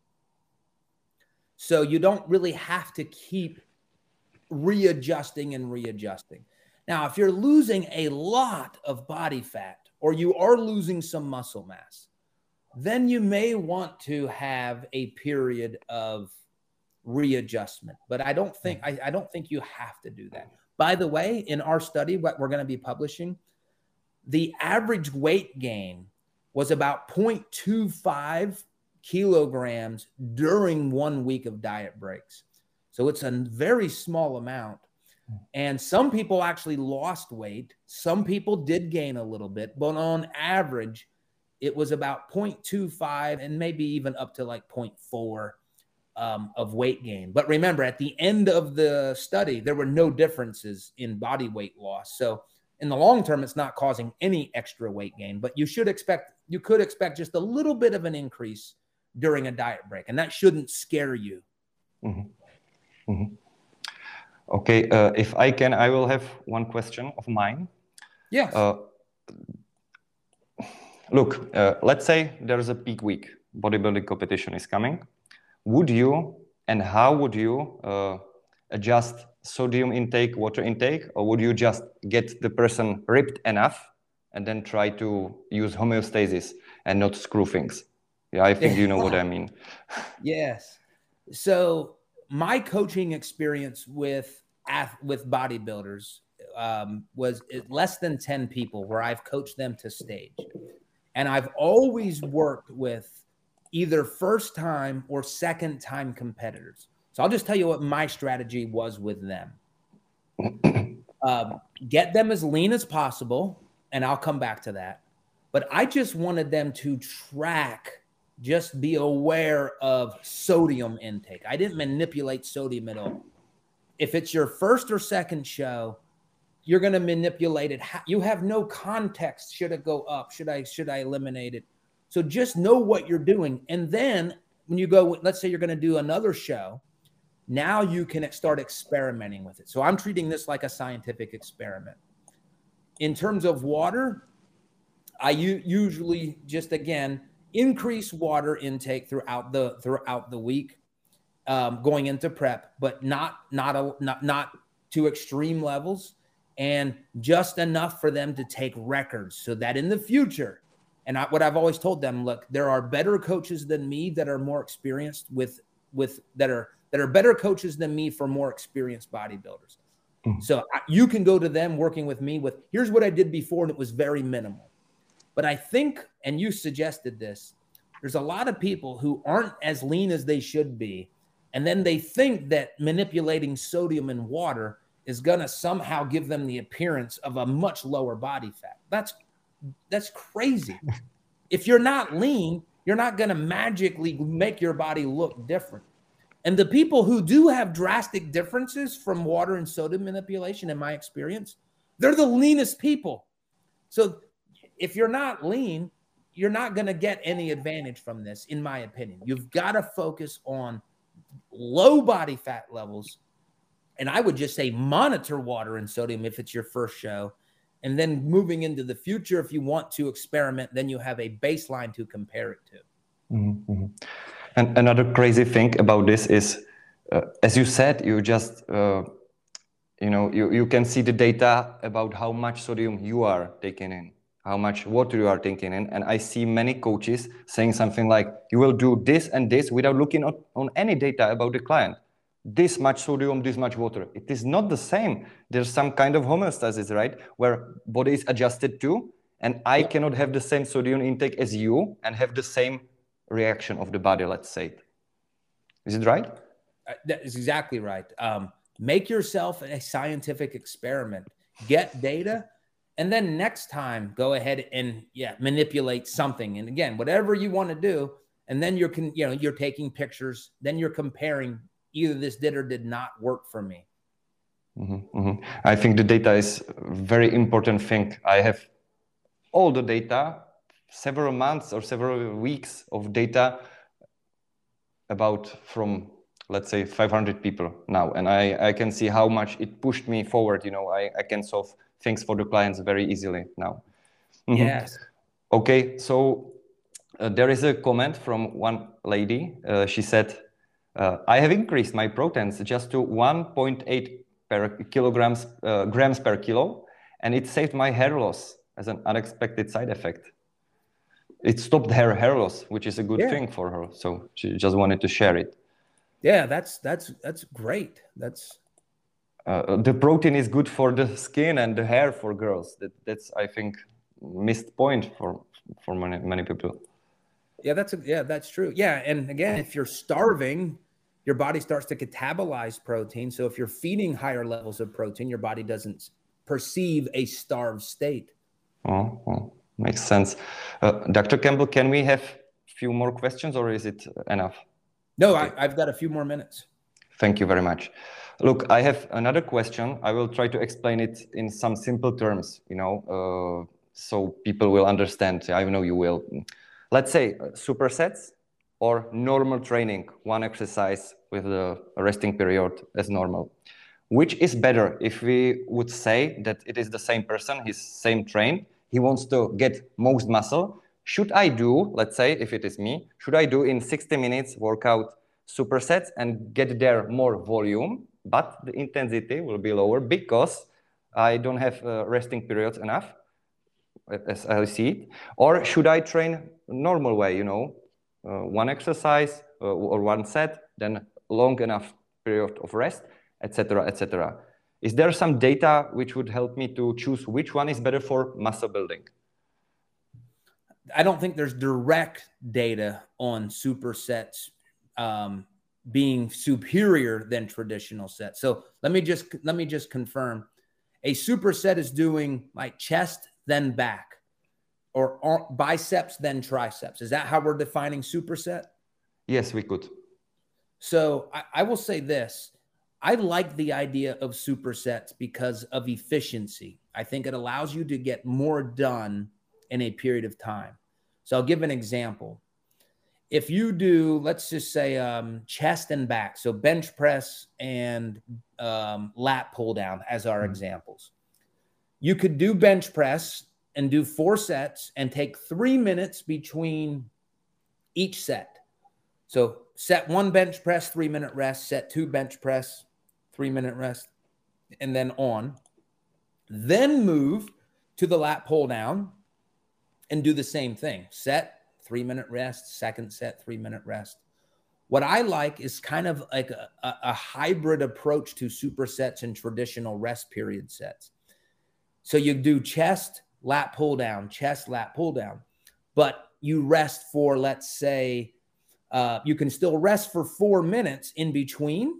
So you don't really have to keep readjusting and readjusting. Now, if you're losing a lot of body fat or you are losing some muscle mass, then you may want to have a period of readjustment. But I don't think I, I don't think you have to do that. By the way, in our study, what we're going to be publishing, the average weight gain was about zero point two five kilograms during one week of diet breaks. So it's a very small amount. And some people actually lost weight. Some people did gain a little bit, but on average, it was about zero point two five and maybe even up to like zero point four um, of weight gain. But remember, at the end of the study, there were no differences in body weight loss. So in the long term, it's not causing any extra weight gain, but you should expect, you could expect just a little bit of an increase during a diet break, and that shouldn't scare you. Mm-hmm. Mm-hmm. Okay, uh, if I can, I will have one question of mine. Yes. Uh, look, uh, let's say there's a peak week, bodybuilding competition is coming. Would you, and how would you uh, adjust sodium intake, water intake, or would you just get the person ripped enough and then try to use homeostasis and not screw things? Yeah, I think you know what I mean. Yes. So my coaching experience with with bodybuilders um, was less than ten people where I've coached them to stage. And I've always worked with either first time or second time competitors. So I'll just tell you what my strategy was with them. um, get them as lean as possible, and I'll come back to that. But I just wanted them to track, just be aware of sodium intake. I didn't manipulate sodium at all. If it's your first or second show, you're going to manipulate it. You have no context. Should it go up? Should I, should I eliminate it? So just know what you're doing. And then when you go, let's say you're going to do another show, now you can start experimenting with it. So I'm treating this like a scientific experiment. In terms of water, I usually just, again, increase water intake throughout the throughout the week, um, going into prep, but not not a, not not to extreme levels, and just enough for them to take records, so that in the future, and I, what I've always told them, look, there are better coaches than me that are more experienced with with that are that are better coaches than me for more experienced bodybuilders. Mm-hmm. So I, you can go to them working with me with, here's what I did before, and it was very minimal. But I think, and you suggested this, there's a lot of people who aren't as lean as they should be, and then they think that manipulating sodium in water is going to somehow give them the appearance of a much lower body fat. That's that's crazy. If you're not lean, you're not going to magically make your body look different. And the people who do have drastic differences from water and sodium manipulation, in my experience, they're the leanest people. So if you're not lean, you're not going to get any advantage from this, in my opinion. You've got to focus on low body fat levels. And I would just say monitor water and sodium if it's your first show. And then moving into the future, if you want to experiment, then you have a baseline to compare it to. Mm-hmm. And another crazy thing about this is, uh, as you said, you just, uh, you know, you, you can see the data about how much sodium you are taking in, how much water you are taking in. And I see many coaches saying something like, you will do this and this without looking at, on any data about the client. This much sodium, this much water. It is not the same. There's some kind of homeostasis, right? Where body is adjusted to, and I yeah. cannot have the same sodium intake as you and have the same reaction of the body, let's say. Is it right? Uh, that is exactly right. Um, make yourself a scientific experiment. Get data. And then next time, go ahead and yeah, manipulate something. And again, whatever you want to do, and then you're con you know you're taking pictures. Then you're comparing. Either this did or did not work for me. Mm-hmm, mm-hmm. I think the data is a very important thing. I have all the data, several months or several weeks of data about from, let's say, five hundred people now, and I I can see how much it pushed me forward. You know, I I can solve things for the clients very easily now. Mm-hmm. Yes. Okay, so uh, there is a comment from one lady. Uh, she said, uh, I have increased my proteins just to one point eight per kilograms, uh, grams per kilo, and it saved my hair loss as an unexpected side effect. It stopped her hair loss, which is a good yeah. thing for her. So she just wanted to share it. Yeah, that's that's that's great. That's uh, the protein is good for the skin and the hair for girls. That that's I think missed point for for many many people. Yeah, that's a, yeah, that's true. Yeah, and again, if you're starving, your body starts to catabolize protein. So if you're feeding higher levels of protein, your body doesn't perceive a starved state. Oh, oh. Makes sense. Uh, Doctor Campbell, can we have a few more questions, or is it enough? No, okay. I, I've got a few more minutes. Thank you very much. Look, I have another question. I will try to explain it in some simple terms, you know, uh, so people will understand. I know you will. Let's say uh, supersets or normal training, one exercise with a resting period as normal. Which is better if we would say that it is the same person, he's same train, he wants to get most muscle. Should I do, let's say, if it is me, should I do in sixty minutes workout supersets and get there more volume, but the intensity will be lower because I don't have uh, resting periods enough, as I see it? Or should I train normal way, you know, uh, one exercise uh, or one set, then long enough period of rest, et cetera, et cetera. Is there some data which would help me to choose which one is better for muscle building? I don't think there's direct data on supersets um, being superior than traditional sets. So let me just let me just confirm: a superset is doing like chest then back, or biceps then triceps. Is that how we're defining superset? Yes, we could. So I, I will say this. I like the idea of supersets because of efficiency. I think it allows you to get more done in a period of time. So I'll give an example. If you do, let's just say um, chest and back, so bench press and um, lat pull down as our mm-hmm. examples. You could do bench press and do four sets and take three minutes between each set. So set one bench press, three minute rest, set two bench press, three minute rest, and then on. Then move to the lat pull down and do the same thing. Set, three minute rest, second set, three minute rest. What I like is kind of like a, a, a hybrid approach to supersets and traditional rest period sets. So you do chest, lat pull down, chest, lat pull down, but you rest for, let's say, uh, you can still rest for four minutes in between,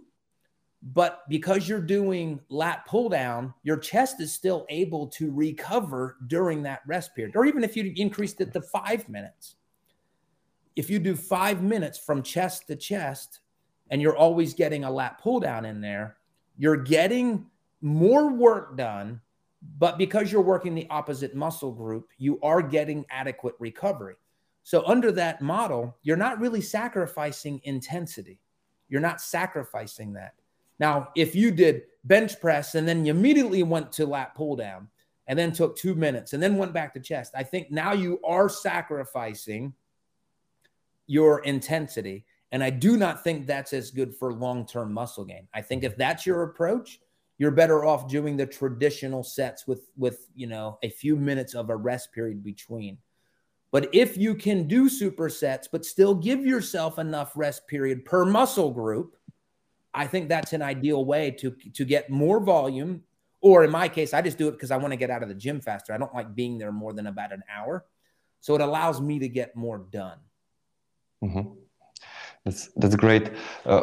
but because you're doing lat pull down, your chest is still able to recover during that rest period. Or even if you increased it to five minutes. If you do five minutes from chest to chest and you're always getting a lat pull down in there, you're getting more work done, but because you're working the opposite muscle group, you are getting adequate recovery. So under that model, you're not really sacrificing intensity. You're not sacrificing that. Now, if you did bench press and then you immediately went to lat pull down and then took two minutes and then went back to chest, I think now you are sacrificing your intensity. And I do not think that's as good for long-term muscle gain. I think if that's your approach, you're better off doing the traditional sets with, with, you know, a few minutes of a rest period between. But if you can do supersets, but still give yourself enough rest period per muscle group, I think that's an ideal way to, to get more volume. Or in my case, I just do it because I want to get out of the gym faster. I don't like being there more than about an hour. So it allows me to get more done. Mm-hmm. That's, that's great. Uh,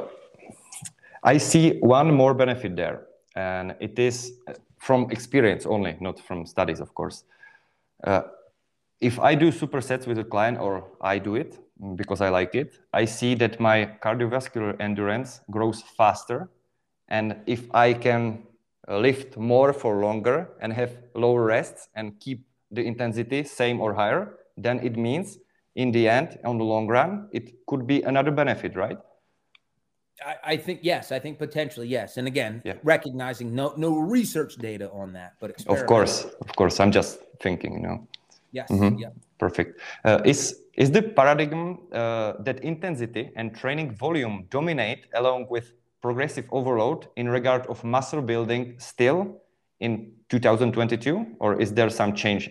I see one more benefit there, and it is from experience only, not from studies, of course. Uh, if I do supersets with a client, or I do it because I like it, I see that my cardiovascular endurance grows faster. And if I can lift more for longer and have lower rests and keep the intensity same or higher, then it means in the end, on the long run, it could be another benefit, right? I, I think, yes, I think potentially, yes. And again, yeah. recognizing no, no research data on that, but of course, of course, I'm just thinking, you know. Yes, mm-hmm. yeah. Perfect. Uh, is, is the paradigm uh, that intensity and training volume dominate along with progressive overload in regard of muscle building still in two thousand twenty-two, or is there some change?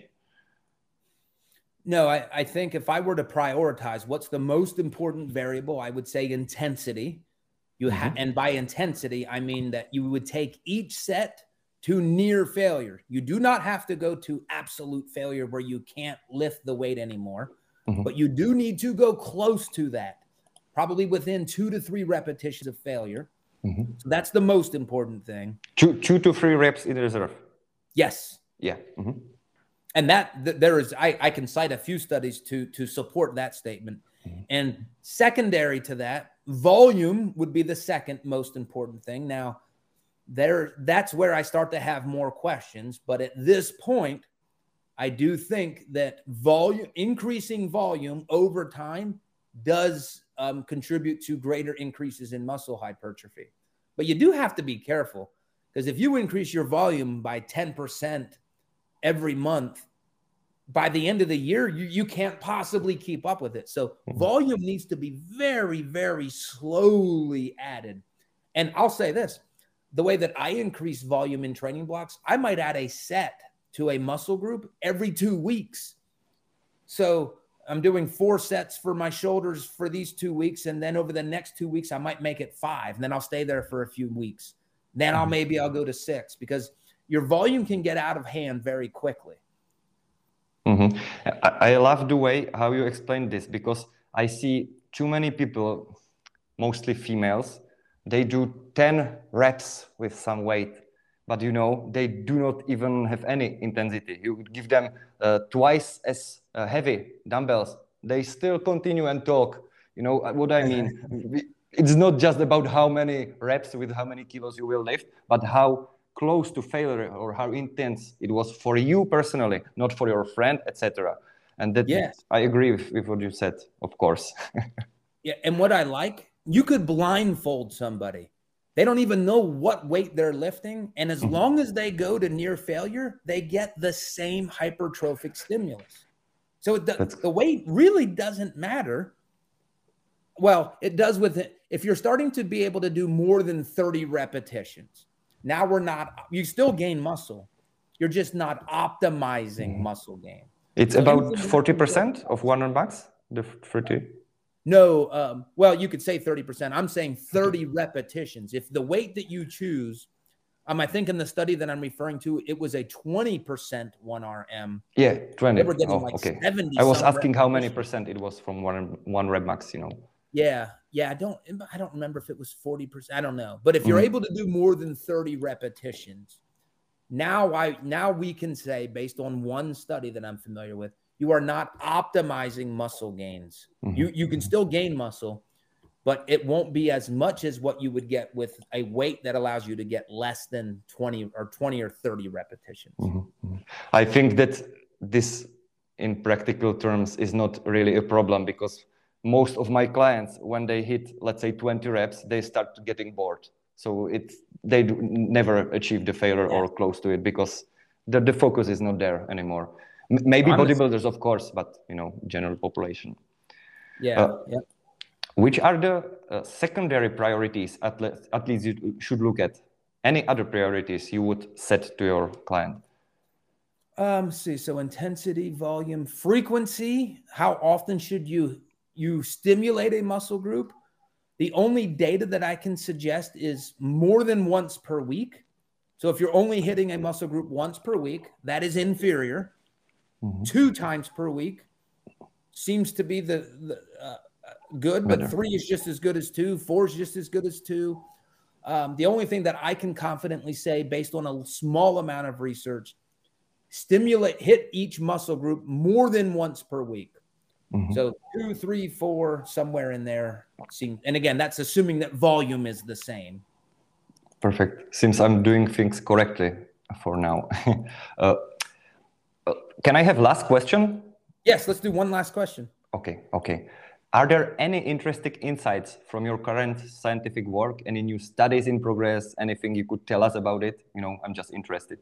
No, I, I think if I were to prioritize what's the most important variable, I would say intensity. You ha- mm-hmm. And by intensity, I mean that you would take each set to near failure. You do not have to go to absolute failure where you can't lift the weight anymore, mm-hmm. but you do need to go close to that, probably within two to three repetitions of failure. Mm-hmm. So that's the most important thing. Two, two to three reps in reserve. Yes. Yeah. Mm-hmm. And that th there is, I, I can cite a few studies to, to support that statement. Mm-hmm. And secondary to that, volume would be the second most important thing. Now, there, that's where I start to have more questions. But at this point, I do think that volume, increasing volume over time does um, contribute to greater increases in muscle hypertrophy. But you do have to be careful, because if you increase your volume by ten percent every month, by the end of the year, you, you can't possibly keep up with it. So volume needs to be very, very slowly added. And I'll say this, the way that I increase volume in training blocks, I might add a set to a muscle group every two weeks. So I'm doing four sets for my shoulders for these two weeks. And then over the next two weeks, I might make it five. And then I'll stay there for a few weeks. Then I'll maybe I'll go to six, because your volume can get out of hand very quickly. Mm-hmm. I, I love the way how you explain this, because I see too many people, mostly females, they do ten reps with some weight, but you know, they do not even have any intensity. You would give them uh, twice as uh, heavy dumbbells. They still continue and talk. You know what I mean? It's not just about how many reps with how many kilos you will lift, but how close to failure or how intense it was for you personally, not for your friend, et cetera. And that, yes, I agree with, with what you said, of course. Yeah, and what I like, you could blindfold somebody. They don't even know what weight they're lifting. And as mm-hmm. long as they go to near failure, they get the same hypertrophic stimulus. So the, the weight really doesn't matter. Well, it does with it. If you're starting to be able to do more than thirty repetitions, now we're not, you still gain muscle. You're just not optimizing mm-hmm. muscle gain. It's so about forty percent of one hundred max, the thirty? No, um, well, you could say thirty percent. I'm saying thirty repetitions. If the weight that you choose, um, I think in the study that I'm referring to, it was a twenty percent one R M. Yeah, twenty. They were getting oh, like okay. seventy. I was asking how many percent it was from one, one rep max, you know. Yeah, yeah, I don't, I don't remember if it was forty percent. I don't know. But if you're mm-hmm. able to do more than thirty repetitions, now I, now we can say, based on one study that I'm familiar with, you are not optimizing muscle gains. Mm-hmm. You, you can still gain muscle, but it won't be as much as what you would get with a weight that allows you to get less than twenty or twenty or thirty repetitions. Mm-hmm. I think that this, in practical terms, is not really a problem, because most of my clients, when they hit, let's say, twenty reps, they start getting bored. So it's, they do never achieve the failure yeah. or close to it, because the, the focus is not there anymore. M maybe well, bodybuilders, of course, but, you know, general population. Yeah. Uh, yeah. Which are the uh, secondary priorities at, le at least you should look at? Any other priorities you would set to your client? Um, let's see, so intensity, volume, frequency. How often should you you stimulate a muscle group? The only data that I can suggest is more than once per week. So if you're only hitting a muscle group once per week, that is inferior. Mm-hmm. Two times per week seems to be the, the uh, good, but three is just as good as two. Four is just as good as two. Um, the only thing that I can confidently say, based on a small amount of research, stimulate, hit each muscle group more than once per week. Mm-hmm. So two, three, four, somewhere in there. And again, that's assuming that volume is the same. Perfect. Seems I'm doing things correctly for now. uh, uh, can I have last question? Yes, let's do one last question. Okay, okay. Are there any interesting insights from your current scientific work? Any new studies in progress? Anything you could tell us about it? You know, I'm just interested.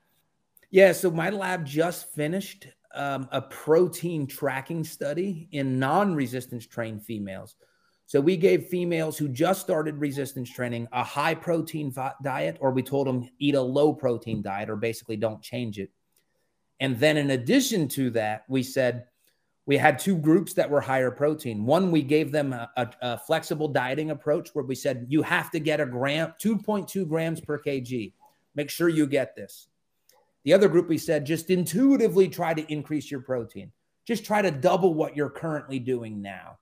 Yeah, so my lab just finished um, a protein tracking study in non-resistance trained females. So we gave females who just started resistance training a high protein diet, or we told them eat a low protein diet, or basically don't change it. And then in addition to that, we said we had two groups that were higher protein. One, we gave them a, a, a flexible dieting approach where we said, you have to get a gram, two point two grams per kg. Make sure you get this. The other group, we said, just intuitively try to increase your protein. Just try to double what you're currently doing now.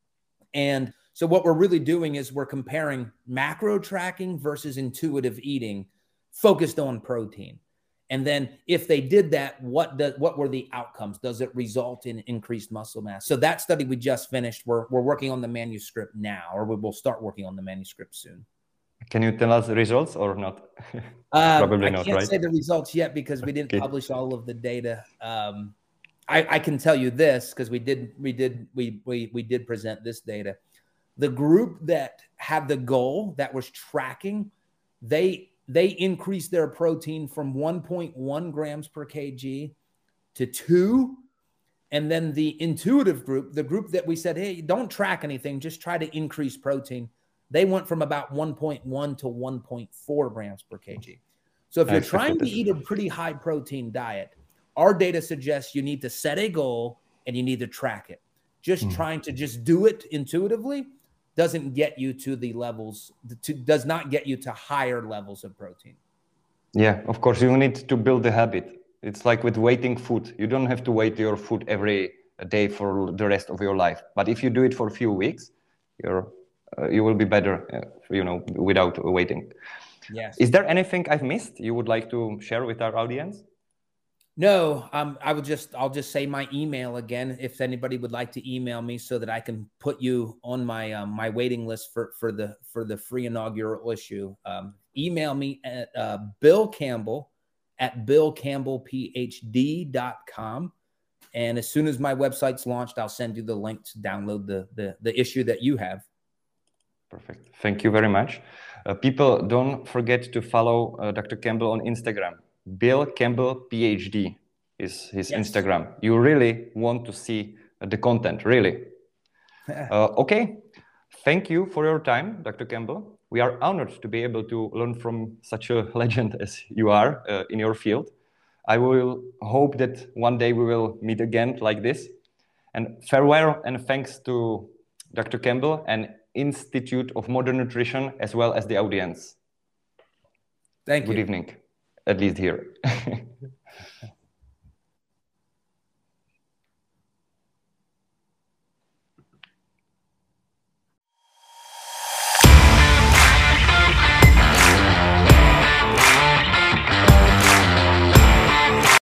And so what we're really doing is we're comparing macro tracking versus intuitive eating focused on protein. And then if they did that, what does, what were the outcomes? Does it result in increased muscle mass? So that study we just finished, we're, we're working on the manuscript now, or we will start working on the manuscript soon. Can you tell us the results or not? Um, Probably I not, can't right? say the results yet because we didn't Okay. publish all of the data. Um, I, I can tell you this because we did we did we we we did present this data. The group that had the goal that was tracking, they they increased their protein from one point one grams per kg to two. And then the intuitive group, the group that we said, hey, don't track anything, just try to increase protein. They went from about one point one to one point four grams per kg. So if you're trying to eat a pretty high protein diet, our data suggests you need to set a goal and you need to track it. Just mm. trying to just do it intuitively doesn't get you to the levels, to, does not get you to higher levels of protein. Yeah, of course, you need to build the habit. It's like with waiting food. You don't have to wait your food every day for the rest of your life. But if you do it for a few weeks, you're, uh, you will be better, uh, you know, without waiting. Yes. Is there anything I've missed you would like to share with our audience? No, um, I would just, I'll just say my email again, if anybody would like to email me so that I can put you on my, um, my waiting list for, for the, for the free inaugural issue. Um, email me at uh, Bill Campbell at bill campbell p h d dot com. And as soon as my website's launched, I'll send you the link to download the, the, the issue that you have. Perfect. Thank you very much. Uh, people, don't forget to follow uh, Doctor Campbell on Instagram. Bill Campbell PhD is his yes. Instagram. You really want to see uh, the content, really. uh, okay. Thank you for your time, Doctor Campbell. We are honored to be able to learn from such a legend as you are uh, in your field. I will hope that one day we will meet again like this. And farewell and thanks to Doctor Campbell and Institute of Modern Nutrition, as well as the audience. Thank you. Good evening, at least here.